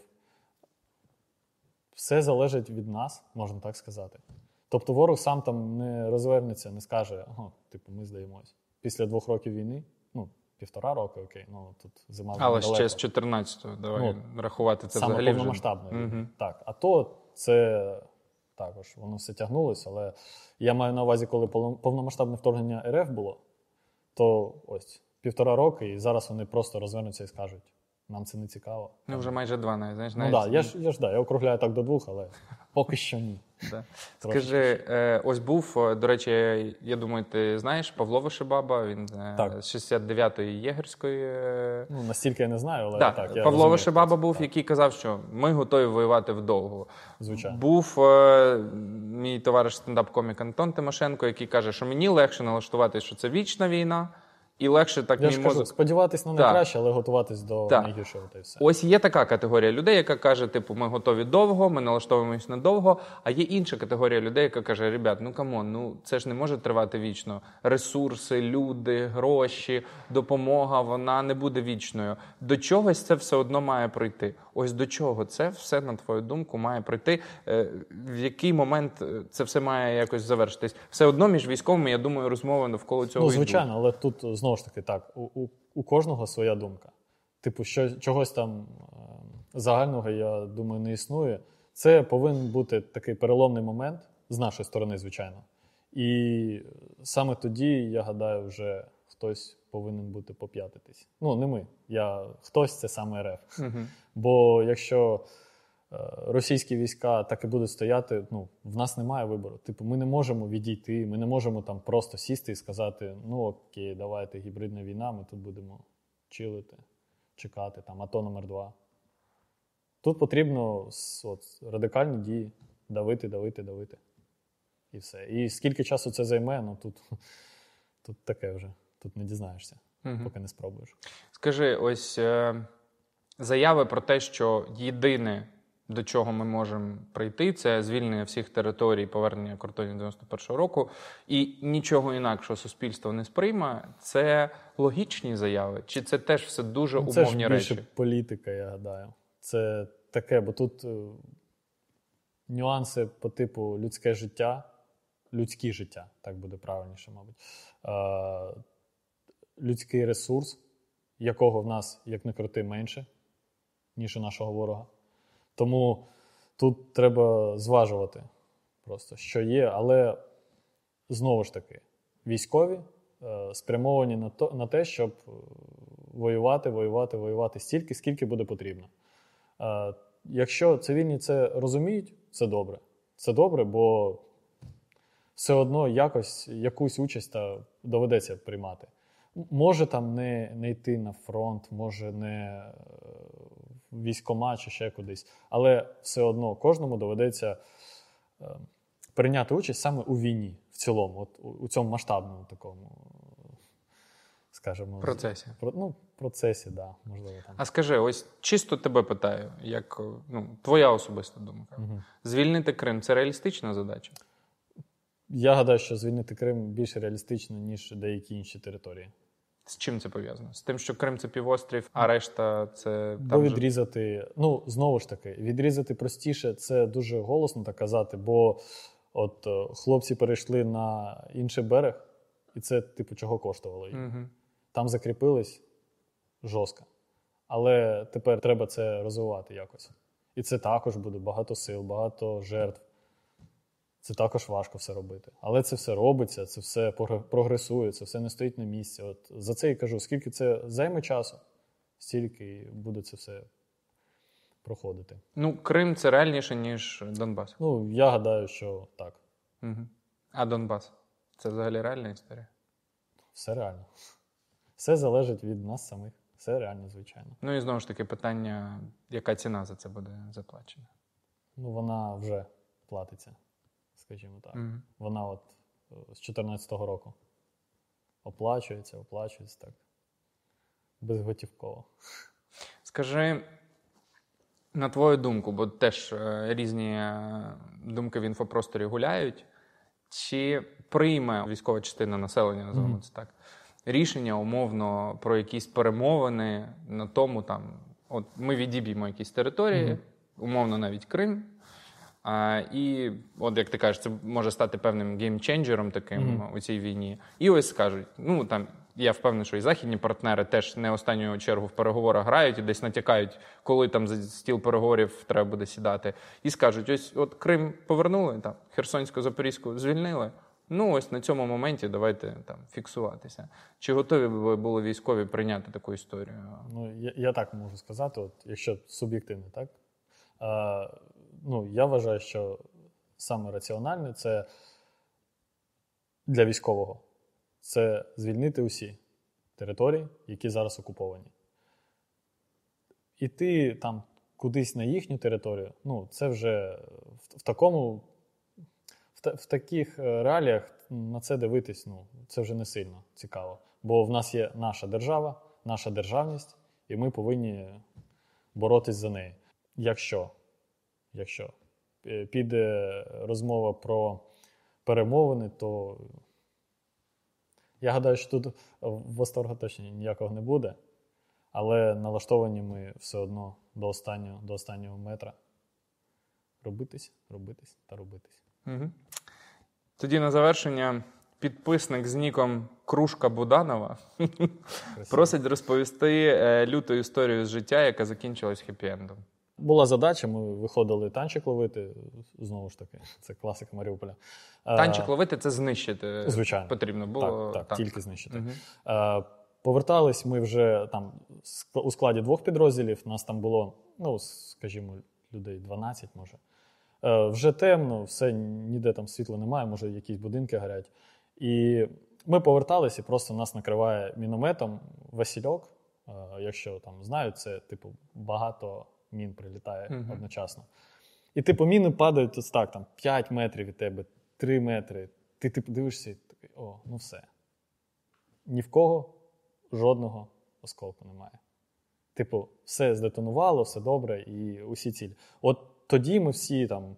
Все залежить від нас, можна так сказати. Тобто ворог сам там не розвернеться, не скаже, ми здаємось. Після 2 років війни, 1,5 роки, окей, тут зима але далеко. ще з 14-го, давай рахувати це саме взагалі вже. повномасштабно. Так, а то це також, воно все тягнулося, але я маю на увазі, коли повномасштабне вторгнення РФ було, то ось 1,5 роки, і зараз вони просто розвернуться і скажуть, нам це не цікаво. Вже майже 2, знаєш. Я округляю так до 2, але поки що ні. Скажи, ось був, до речі, я думаю, ти знаєш, Павло Вишибаба, він з 69-ї Єгерської. Настільки я не знаю, але так. Я Павло Вишибаба був, який казав, що ми готові воювати вдовго. Звичайно. Був мій товариш стендап-комік Антон Тимошенко, який каже, що мені легше налаштуватися, що це вічна війна. І легше так мій мозок. Сподіватись на найкраще, але готуватись до найгіршого. Та й все. Ось є така категорія людей, яка каже, ми готові довго, ми налаштовуємось надовго. А є інша категорія людей, яка каже, ребят, камон, це ж не може тривати вічно. Ресурси, люди, гроші, допомога, вона не буде вічною. До чогось це все одно має прийти. Ось до чого це все, на твою думку, має прийти? В який момент це все має якось завершитись? Все одно між військовими, я думаю, розмови навколо цього йдуть. Звичайно, але тут знову ж таки так, у кожного своя думка. Чогось там загального, я думаю, не існує. Це повинен бути такий переломний момент, з нашої сторони, звичайно. І саме тоді, я гадаю, вже хтось повинен бути поп'ятитись. Не ми. Хтось – це саме РФ. Бо якщо російські війська так і будуть стояти, ну, в нас немає вибору. Типу, ми не можемо відійти, ми не можемо там просто сісти і сказати, ну окей, давайте, гібридна війна, ми тут будемо чилити, чекати, там, АТО номер 2. Тут потрібно радикальні дії, давити. І все. І скільки часу це займе, ну тут таке вже, тут не дізнаєшся, поки не спробуєш. Скажи, ось заяви про те, що єдине, до чого ми можемо прийти, це звільнення всіх територій, повернення кордонів 91-го року, і нічого інакшого суспільство не сприйме, це логічні заяви? Чи це теж все дуже умовні речі? Це ж більше політика, я гадаю. Це таке, бо тут нюанси по типу людське життя, так буде правильніше, мабуть, людський ресурс, якого в нас, як не крути, менше, ніж у нашого ворога. Тому тут треба зважувати просто, що є, але знову ж таки, військові спрямовані на те, щоб воювати стільки, скільки буде потрібно. Якщо цивільні це розуміють, це добре. Це добре, бо все одно якусь участь доведеться приймати. Може там не йти на фронт, може не в військкомат чи ще кудись, але все одно кожному доведеться прийняти участь саме у війні в цілому, от у цьому масштабному такому, скажімо, процесі, да, можливо. Там. А скажи, ось чисто тебе питаю, як твоя особиста думка. Звільнити Крим – це реалістична задача? Я гадаю, що звільнити Крим більш реалістично, ніж деякі інші території. З чим це пов'язано? З тим, що Крим – це півострів, а решта – це... Бо відрізати, знову ж таки, відрізати простіше – це дуже голосно так казати, бо от хлопці перейшли на інший берег, і це, типу, чого коштувало їм. Угу. Там закріпились жорстко. Але тепер треба це розвивати якось. І це також буде багато сил, багато жертв. Це також важко все робити. Але це все робиться, це все прогресує, це все не стоїть на місці. От за це і кажу, скільки це займе часу, стільки і буде це все проходити. Крим – це реальніше, ніж Донбас? Я гадаю, що так. Угу. А Донбас? Це взагалі реальна історія? Все реально. Все залежить від нас самих. Все реально, звичайно. І знову ж таки питання, яка ціна за це буде заплачена? Вона вже платиться, скажімо так. Угу. Вона от з 14-го року оплачується так, безготівково. Скажи, на твою думку, бо теж різні думки в інфопросторі гуляють, чи прийме військова частина населення, називаємо це так, рішення умовно про якісь перемовини на тому, от ми відіб'ємо якісь території, умовно навіть Крим, і от як ти кажеш, це може стати певним геймченджером таким у цій війні. І ось скажуть, я впевнений, що і західні партнери теж не останню чергу в переговорах грають і десь натякають, коли там за стіл переговорів треба буде сідати. І скажуть, ось от Крим повернули, Херсонську, Запорізьку звільнили, ось на цьому моменті давайте фіксуватися. Чи готові ви були військові прийняти таку історію? Я так можу сказати, от якщо суб'єктивно, так? Я вважаю, що саме раціональне – це для військового. Це звільнити усі території, які зараз окуповані. Іти там кудись на їхню територію, це вже в таких реаліях на це дивитись, це вже не сильно цікаво. Бо в нас є наша держава, наша державність, і ми повинні боротись за неї. Якщо піде розмова про перемовини, то я гадаю, що тут восторгу точно ніякого не буде, але налаштовані ми все одно до останнього метра робитись. Угу. Тоді на завершення підписник з ніком Кружка Буданова просить розповісти люту історію з життя, яка закінчилась хеппі-ендом. Була задача, ми виходили танчик ловити, знову ж таки, це класика Маріуполя. Танчик ловити – це знищити, звичайно, потрібно було? Так, тільки знищити. Угу. Повертались ми вже там у складі 2 підрозділів, нас там було, скажімо, людей 12, може. Вже темно, все, ніде там світла немає, може якісь будинки горять. І ми поверталися, і просто нас накриває мінометом Васильок. Якщо там знають, це типу багато мін прилітає одночасно. І типу міни падають ось так, там 5 метрів від тебе, 3 метри. Ти типу дивишся і такий, ну все. Ні в кого жодного осколку немає. Типу, все здетонувало, все добре і усі цілі. От тоді ми всі там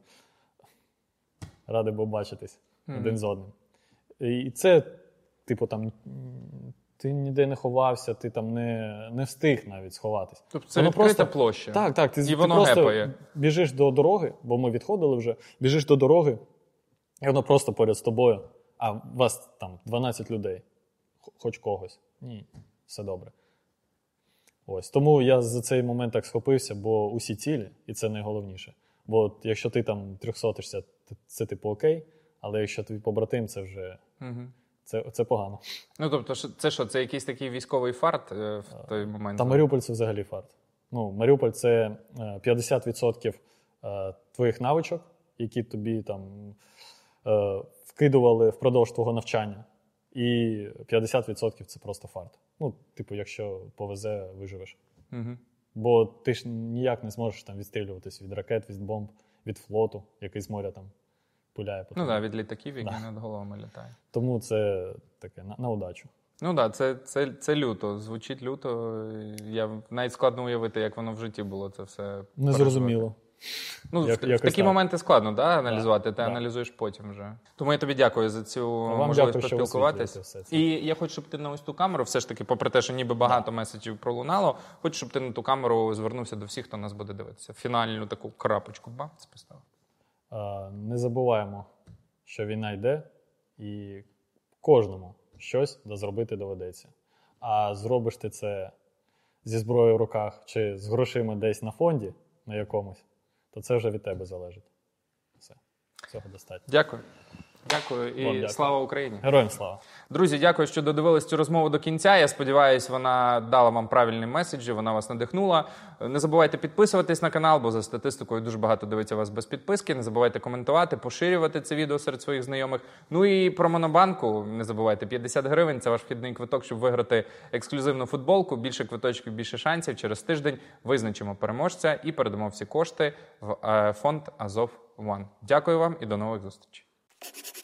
раді був бачитись один з одним. І це, типу, там ти ніде не ховався, ти там не встиг навіть сховатись. Тобто це відкрита площа. Так. Ти воно просто гепає. Біжиш до дороги, бо ми відходили вже, біжиш до дороги, і воно просто поряд з тобою, а вас там 12 людей. Хоч когось. Ні, все добре. Ось. Тому я за цей момент так схопився, бо усі цілі, і це найголовніше. Бо от, якщо ти там 300-шся, це типу окей, але якщо твій побратим, це вже це погано. Ну, тобто, це що, це якийсь такий військовий фарт в той момент? Та Маріуполь – це взагалі фарт. Ну, Маріуполь – це 50% твоїх навичок, які тобі там вкидували впродовж твого навчання. І 50% це просто фарт. Ну, типу, якщо повезе, виживеш. Бо ти ж ніяк не зможеш там відстрілюватись від ракет, від бомб, від флоту, який з моря там пуляє по тобі. Ну так, від літаків, які над головами літають. Тому це таке на удачу. Ну так, це люто. Звучить люто. Я навіть складно уявити, як воно в житті було це все. Незрозуміло. Ну, в такі моменти складно, аналізувати, ти аналізуєш потім вже. Тому я тобі дякую за цю можливість поспілкуватися. І я хочу, щоб ти на ось ту камеру, все ж таки, попри те, що ніби багато меседжів пролунало, хочу, щоб ти на ту камеру звернувся до всіх, хто нас буде дивитися. Фінальну таку крапочку, бац, поставив. Не забуваємо, що війна йде, і кожному щось зробити доведеться. А зробиш ти це зі зброєю в руках чи з грошима десь на фонді, на якомусь, то це вже від тебе залежить. Все. Цього достатньо. Дякую. Дякую і дякую. Слава Україні. Героям слава. Друзі, дякую, що додивились цю розмову до кінця. Я сподіваюся, вона дала вам правильні меседжі, вона вас надихнула. Не забувайте підписуватись на канал, бо за статистикою дуже багато дивиться вас без підписки. Не забувайте коментувати, поширювати це відео серед своїх знайомих. Ну і про Монобанку не забувайте. 50 гривень – це ваш вхідний квиток, щоб виграти ексклюзивну футболку. Більше квиточків, більше шансів. Через тиждень визначимо переможця і передамо всі кошти в фонд Азов One. Дякую вам і до нових зустрічей.